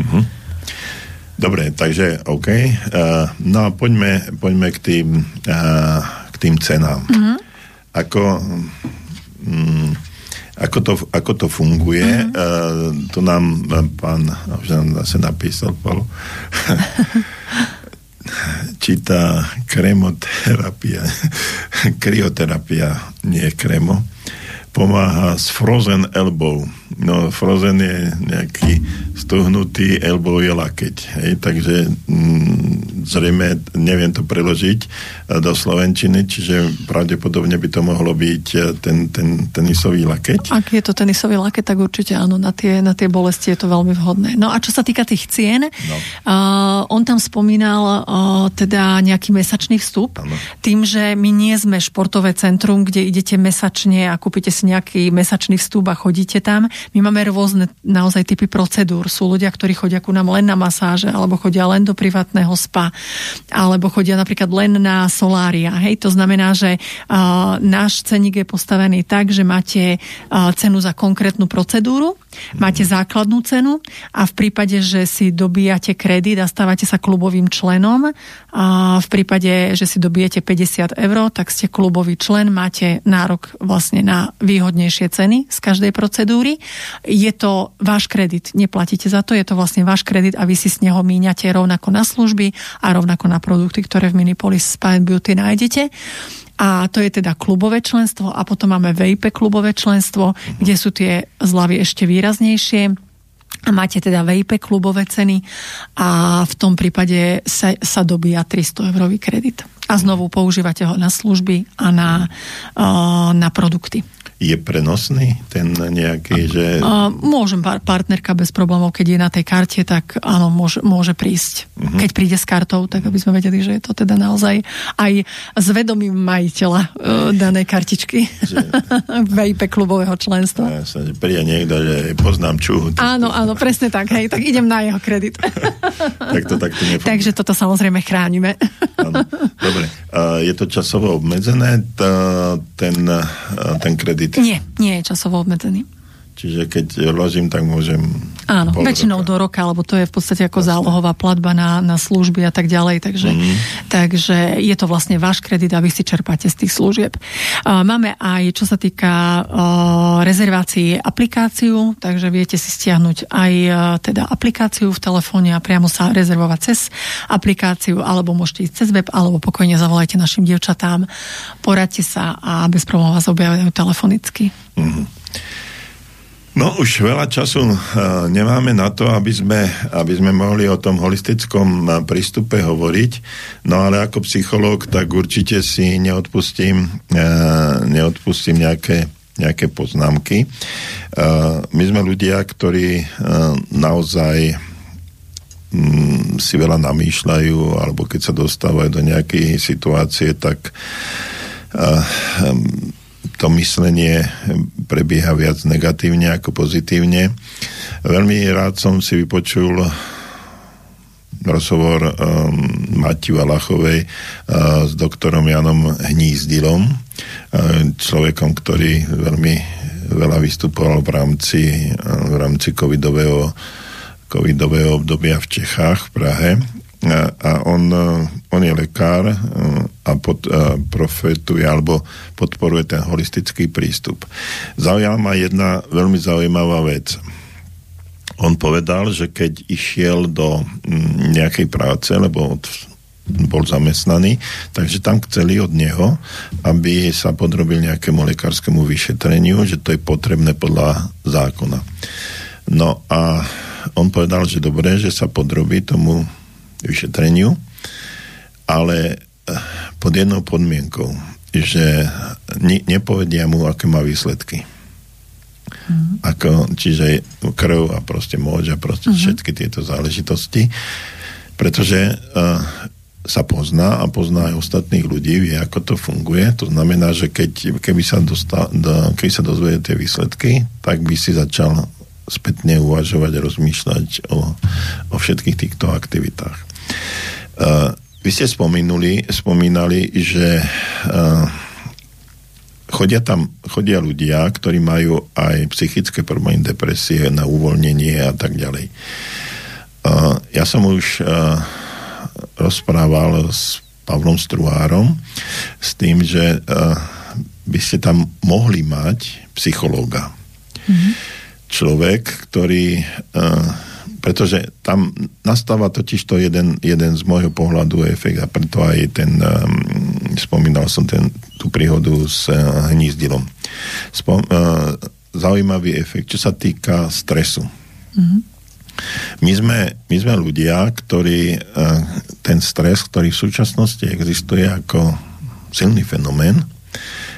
Dobre, takže OK. No a poďme k tým cenám. Ako to funguje? To nám pán zase napísal, Paolo. Číta kryoterapia, nie kremo. Pomáha s frozen elbow. No, frozen je nejaký stuhnutý, elbow je lakeť. Hej? Takže zrejme neviem to preložiť do slovenčiny, čiže pravdepodobne by to mohlo byť ten tenisový lakeť. Ak je to tenisový lakeť, tak určite áno, na tie bolesti je to veľmi vhodné. No a čo sa týka tých cien, on tam spomínal teda nejaký mesačný vstup. Ano. Tým, že my nie sme športové centrum, kde idete mesačne a kúpite si nejaký mesačný vstup a chodíte tam, My máme rôzne naozaj typy procedúr. Sú ľudia, ktorí chodia ku nám len na masáže, alebo chodia len do privátneho spa, alebo chodia napríklad len na solária. Hej, to znamená, že náš ceník je postavený tak, že máte cenu za konkrétnu procedúru, máte základnú cenu a v prípade, že si dobíjate kredit a stávate sa klubovým členom, a v prípade, že si dobijete 50 €, tak ste klubový člen, máte nárok vlastne na výhodnejšie ceny z každej procedúry. Je to váš kredit, neplatíte za to, je to vlastne váš kredit a vy si z neho míňate rovnako na služby a rovnako na produkty, ktoré v Minipolis Spa & Beauty nájdete. A to je teda klubové členstvo a potom máme VIP klubové členstvo, kde sú tie zľavy ešte výraznejšie. A máte teda VIP klubové ceny a v tom prípade sa dobíja 300 € kredit. A znovu používate ho na služby a na produkty. Je prenosný ten nejaký, že... Môžem, partnerka bez problémov, keď je na tej karte, tak áno, môže prísť. Keď príde s kartou, tak aby sme vedeli, že je to teda naozaj aj s vedomím majiteľa danej kartičky. VIP klubového členstva. Ja sa, že príde niekto, že poznám čuhu. Áno, presne tak, hej, tak idem na jeho kredit. Tak to takto nefunguje. Takže toto samozrejme chránime. Áno. Dobre, je to časovo obmedzené, ten kredit? Nie je časovo obmedzený. Čiže keď vložím, tak môžem... Áno, väčšinou do roka, lebo to je v podstate ako zálohová platba na služby a tak ďalej, takže je to vlastne váš kredit a vy si čerpáte z tých služieb. Máme aj, čo sa týka rezervácií, aplikáciu, takže viete si stiahnuť aj teda aplikáciu v telefóne a priamo sa rezervovať cez aplikáciu, alebo môžete ísť cez web, alebo pokojne zavolajte našim dievčatám, poradte sa a bez problémov vás objavia telefonicky. No už veľa času nemáme na to, aby sme mohli o tom holistickom prístupe hovoriť, no ale ako psychológ, tak určite si neodpustím nejaké poznámky. My sme ľudia, ktorí naozaj si veľa namýšľajú, alebo keď sa dostávajú do nejakej situácie, tak to myslenie prebieha viac negatívne ako pozitívne. Veľmi rád som si vypočul rozhovor Mati Valachovej s doktorom Janom Hnízdilom, človekom, ktorý veľmi veľa vystupoval v rámci covidového obdobia v Čechách, v Prahe. A on je lekár a profetuje alebo podporuje ten holistický prístup. Zaujala ma jedna veľmi zaujímavá vec. On povedal, že keď išiel do nejakej práce, lebo bol zamestnaný, takže tam chceli od neho, aby sa podrobil nejakému lekárskému vyšetreniu, že to je potrebné podľa zákona. No a on povedal, že dobre, že sa podrobí tomu vyšetreniu, ale pod jednou podmienkou, že nepovedia mu, aké má výsledky. Čiže krv a proste moč a proste všetky tieto záležitosti, pretože sa pozná a pozná aj ostatných ľudí, vie, ako to funguje. To znamená, že keby sa dozvedie tie výsledky, tak by si začal spätne uvažovať a rozmýšľať o všetkých týchto aktivitách. Vy ste spomínali, že chodia ľudia, ktorí majú aj psychické problémy, depresie, na uvoľnenie a tak ďalej. Ja som už rozprával s Pavlom Struhárom s tým, že by ste tam mohli mať psychológa. Človek, ktorý pretože tam nastáva totiž to jeden z môjho pohľadu efekt a preto aj spomínal som tú príhodu s Hnízdilom. Zaujímavý efekt, čo sa týka stresu. My sme ľudia, ktorí ten stres, ktorý v súčasnosti existuje ako silný fenomén,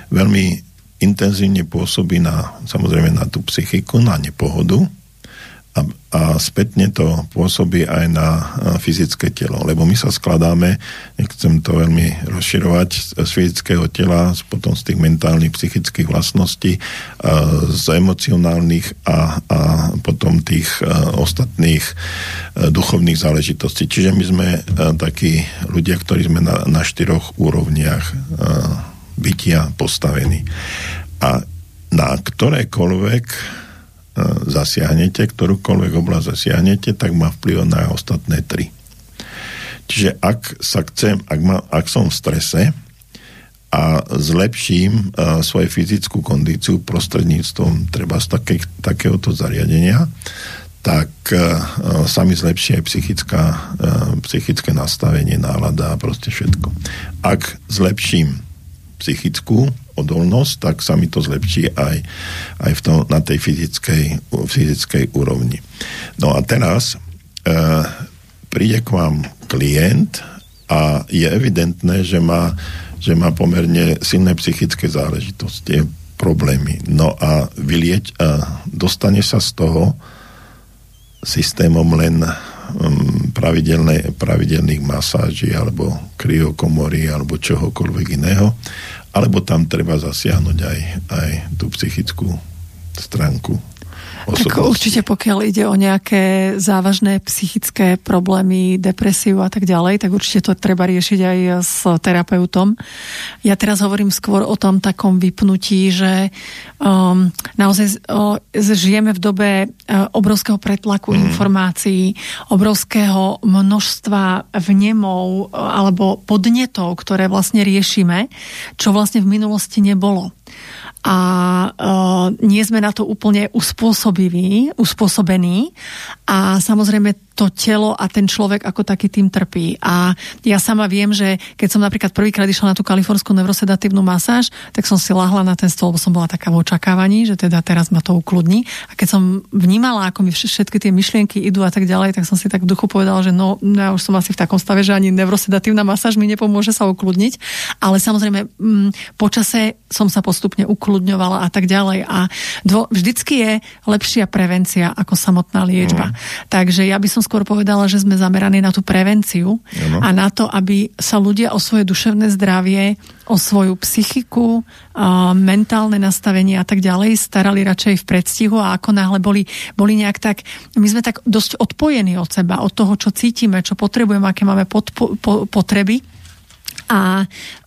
veľmi intenzívne pôsobí samozrejme na tú psychiku, na nepohodu a spätne to pôsobí aj na fyzické telo. Lebo my sa skladáme, nechcem to veľmi rozširovať, z fyzického tela, potom z tých mentálnych, psychických vlastností, z emocionálnych a potom tých ostatných duchovných záležitostí. Čiže my sme takí ľudia, ktorí sme na 4 úrovniach bytia postavení. A na ktorékoľvek zasiahnete, ktorúkoľvek oblasť zasiahnete, tak má vplyv na ostatné 3. Čiže ak som v strese a zlepším svoju fyzickú kondíciu prostredníctvom treba z takéhoto zariadenia, tak sa mi zlepší aj psychické nastavenie, nálada a proste všetko. Ak zlepším psychickú odolnosť, tak sa mi to zlepší aj na tej fyzickej úrovni. No a teraz príde k vám klient a je evidentné, že má pomerne silné psychické záležitosti, problémy. No a dostane sa z toho systémom len pravidelných masáží alebo kryokomory alebo čohokoľvek iného, alebo tam treba zasiahnuť aj tú psychickú stránku osobnosti. Tak určite pokiaľ ide o nejaké závažné psychické problémy, depresiu a tak ďalej, tak určite to treba riešiť aj s terapeutom. Ja teraz hovorím skôr o tom takom vypnutí, že naozaj žijeme v dobe obrovského pretlaku informácií, obrovského množstva vnemov alebo podnetov, ktoré vlastne riešime, čo vlastne v minulosti nebolo. A nie sme na to úplne uspôsobení a samozrejme to telo a ten človek ako taký tým trpí. A ja sama viem, že keď som napríklad prvýkrát išla na tú kalifornskú neurosedatívnu masáž, tak som si ľahla na ten stôl, lebo som bola taká v očakávaní, že teda teraz ma to ukludní. A keď som vnímala, ako mi všetky tie myšlienky idú a tak ďalej, tak som si tak v duchu povedala, že ja už som asi v takom stave, že ani neurosedatívna masáž mi nepomôže sa ukludniť. Ale samozrejme počase som sa postupne ukludňovala a tak ďalej. A vždycky je lepšia prevencia ako samotná liečba. Takže ja by som skôr povedala, že sme zameraní na tú prevenciu a na to, aby sa ľudia o svoje duševné zdravie, o svoju psychiku, mentálne nastavenie a tak ďalej starali radšej v predstihu a ako náhle boli nejak tak, my sme tak dosť odpojení od seba, od toho, čo cítime, čo potrebujeme, aké máme potreby. A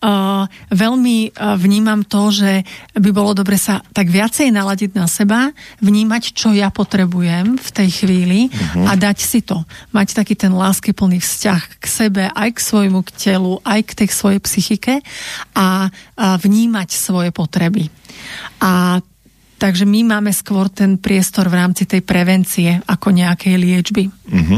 veľmi vnímam to, že by bolo dobre sa tak viacej naladiť na seba, vnímať, čo ja potrebujem v tej chvíli a dať si to. Mať taký ten láskyplný vzťah k sebe, aj k svojmu telu, aj k tej svojej psychike a vnímať svoje potreby. A takže my máme skôr ten priestor v rámci tej prevencie ako nejakej liečby.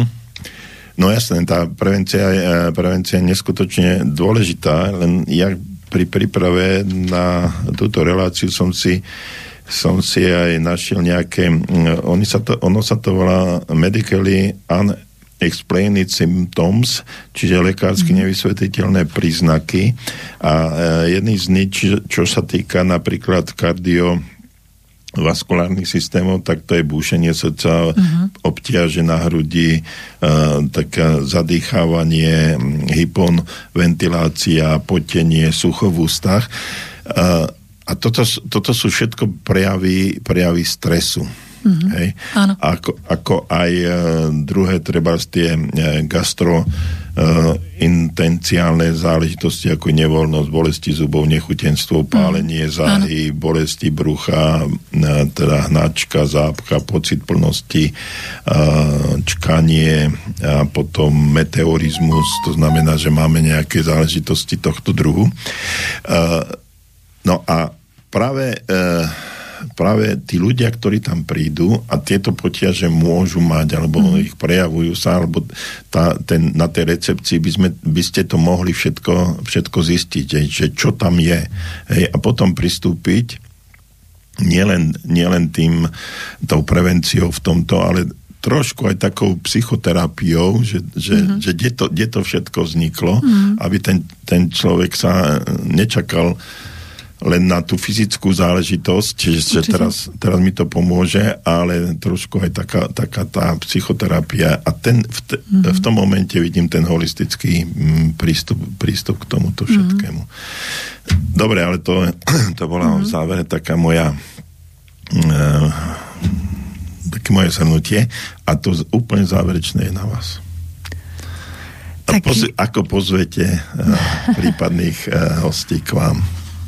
No jasné, tá prevencia je neskutočne dôležitá, len ja pri príprave na túto reláciu som si aj našiel nejaké, ono sa to volá medically unexplained symptoms, čiže lekársky nevysvetliteľné príznaky a jedný z nich, čo sa týka napríklad vaskulárnych systémov, tak to je búšenie srdca, obtiaže na hrudi, také zadýchávanie, hypoventilácia, potenie, sucho v ústach. A toto sú všetko prejavy stresu. Hej? Ako aj druhé, treba tie gastrointenciálne záležitosti, ako nevoľnosť, bolesti zubov, nechutenstvo, pálenie záhy, bolesti brucha, teda hnačka, zápcha, pocit plnosti, čkanie a potom meteorizmus, to znamená, že máme nejaké záležitosti tohto druhu. No a práve tí ľudia, ktorí tam prídu a tieto potiaže môžu mať, alebo ich prejavujú sa, alebo na tej recepcii by ste to mohli všetko zistiť, že čo tam je. Hej, a potom pristúpiť nielen tou prevenciou v tomto, ale trošku aj takou psychoterapiou, že kde to všetko vzniklo, aby ten človek sa nečakal len na tú fyzickú záležitosť, čiže teraz mi to pomôže, ale trošku aj taká tá psychoterapia a v tom momente vidím ten holistický prístup k tomuto všetkému. Dobre, ale to bola v závere taká také moje zhrnutie a to úplne záverečné je na vás. Ako pozvete prípadných hostí k vám?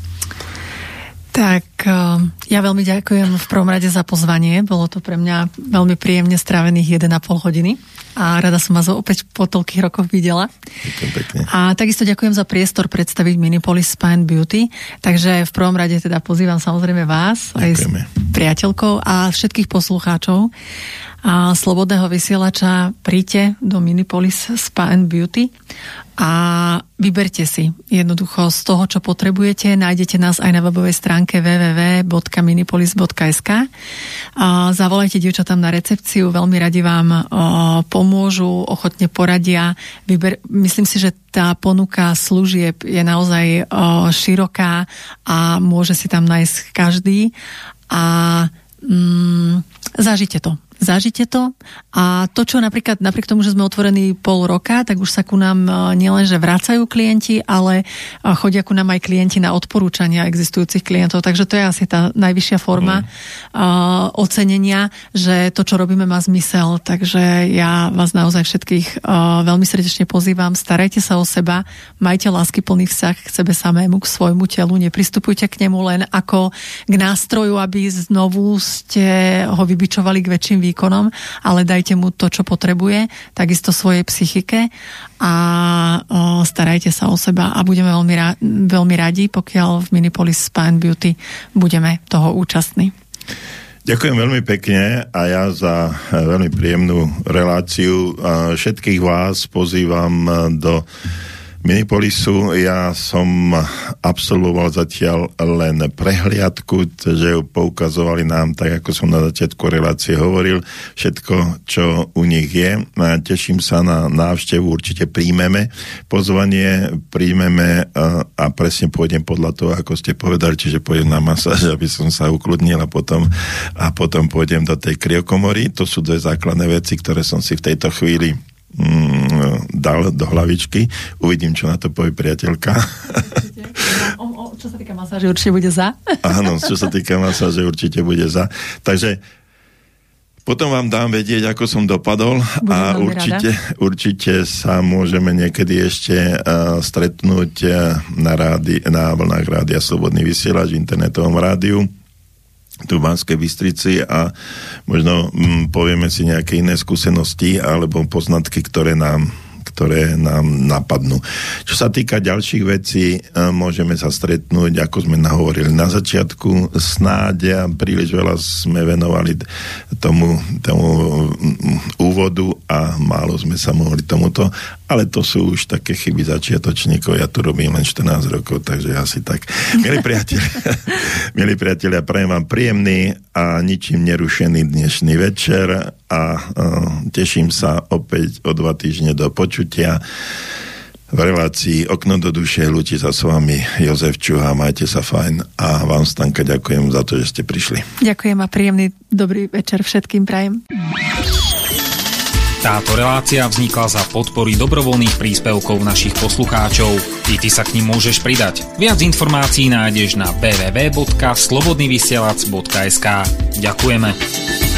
Tak ja veľmi ďakujem v prvom rade za pozvanie. Bolo to pre mňa veľmi príjemne strávených 1,5 hodiny a rada som vás opäť po toľkých rokoch videla. Pekne. A takisto ďakujem za priestor predstaviť Minipolis Spa and Beauty. Takže v prvom rade teda pozývam samozrejme vás, ďakujeme. Aj s priateľkou a všetkých poslucháčov a Slobodného vysielača. Príďte do Minipolis Spa and Beauty a vyberte si jednoducho z toho, čo potrebujete. Nájdete nás aj na webovej stránke www.minipolis.sk. Zavolajte dievčatám na recepciu, veľmi radi vám pomôžu, ochotne poradia. Myslím si, že tá ponuka služieb je naozaj široká a môže si tam nájsť každý a zažite to. Zažite to a to, čo napríklad napriek tomu, že sme otvorení pol roka, tak už sa ku nám nielenže vracajú klienti, ale chodia ku nám aj klienti na odporúčania existujúcich klientov, takže to je asi tá najvyššia forma ocenenia, že to, čo robíme, má zmysel, takže ja vás naozaj všetkých veľmi srdečne pozývam, starajte sa o seba, majte láskyplný vzťah k sebe samému, k svojmu telu, nepristupujte k nemu len ako k nástroju, aby znovu ste ho vybičovali k väčším výkonom, ale dajte mu to, čo potrebuje, takisto svojej psychike a starajte sa o seba a budeme veľmi radi, pokiaľ v Minipolis Spa and Beauty budeme toho účastní. Ďakujem veľmi pekne a ja za veľmi príjemnú reláciu. Všetkých vás pozývam do Minipolisu. Ja som absolvoval zatiaľ len prehliadku, že ju poukazovali nám, tak ako som na začiatku relácie hovoril, všetko, čo u nich je. Teším sa na návštevu, určite príjmeme pozvanie, a presne pôjdem podľa toho, ako ste povedali, čiže pôjdem na masáž, aby som sa ukludnil a potom pôjdem do tej kryokomory. To sú dve základné veci, ktoré som si v tejto chvíli dal do hlavičky. Uvidím, čo na to povie priateľka. Čo sa týka masáže, určite bude za. Áno, čo sa týka masáže, určite bude za. Takže potom vám dám vedieť, ako som dopadol a určite sa môžeme niekedy ešte stretnúť na vlnách Rádia Slobodný vysielač, v internetovom rádiu tu v Banskej Bystrici a možno povieme si nejaké iné skúsenosti alebo poznatky, ktoré nám napadnú. Čo sa týka ďalších vecí, môžeme sa stretnúť, ako sme nahovorili na začiatku, snáď príliš veľa sme venovali tomu úvodu a málo sme sa mohli tomuto, ale to sú už také chyby začiatočníkov, ja tu robím len 14 rokov, takže asi tak. Milí priatelia, prajem vám príjemný a ničím nerušený dnešný večer a teším sa opäť o 2 týždne do počutia v relácii Okno do duše. Lúči sa s vami Jozef Čuha, majte sa fajn a vám, Stanka, ďakujem za to, že ste prišli. Ďakujem a príjemný dobrý večer všetkým prajem. Táto relácia vznikla za podpory dobrovoľných príspevkov našich poslucháčov. I ty sa k nim môžeš pridať. Viac informácií nájdeš na www.slobodnyvysielac.sk. Ďakujeme.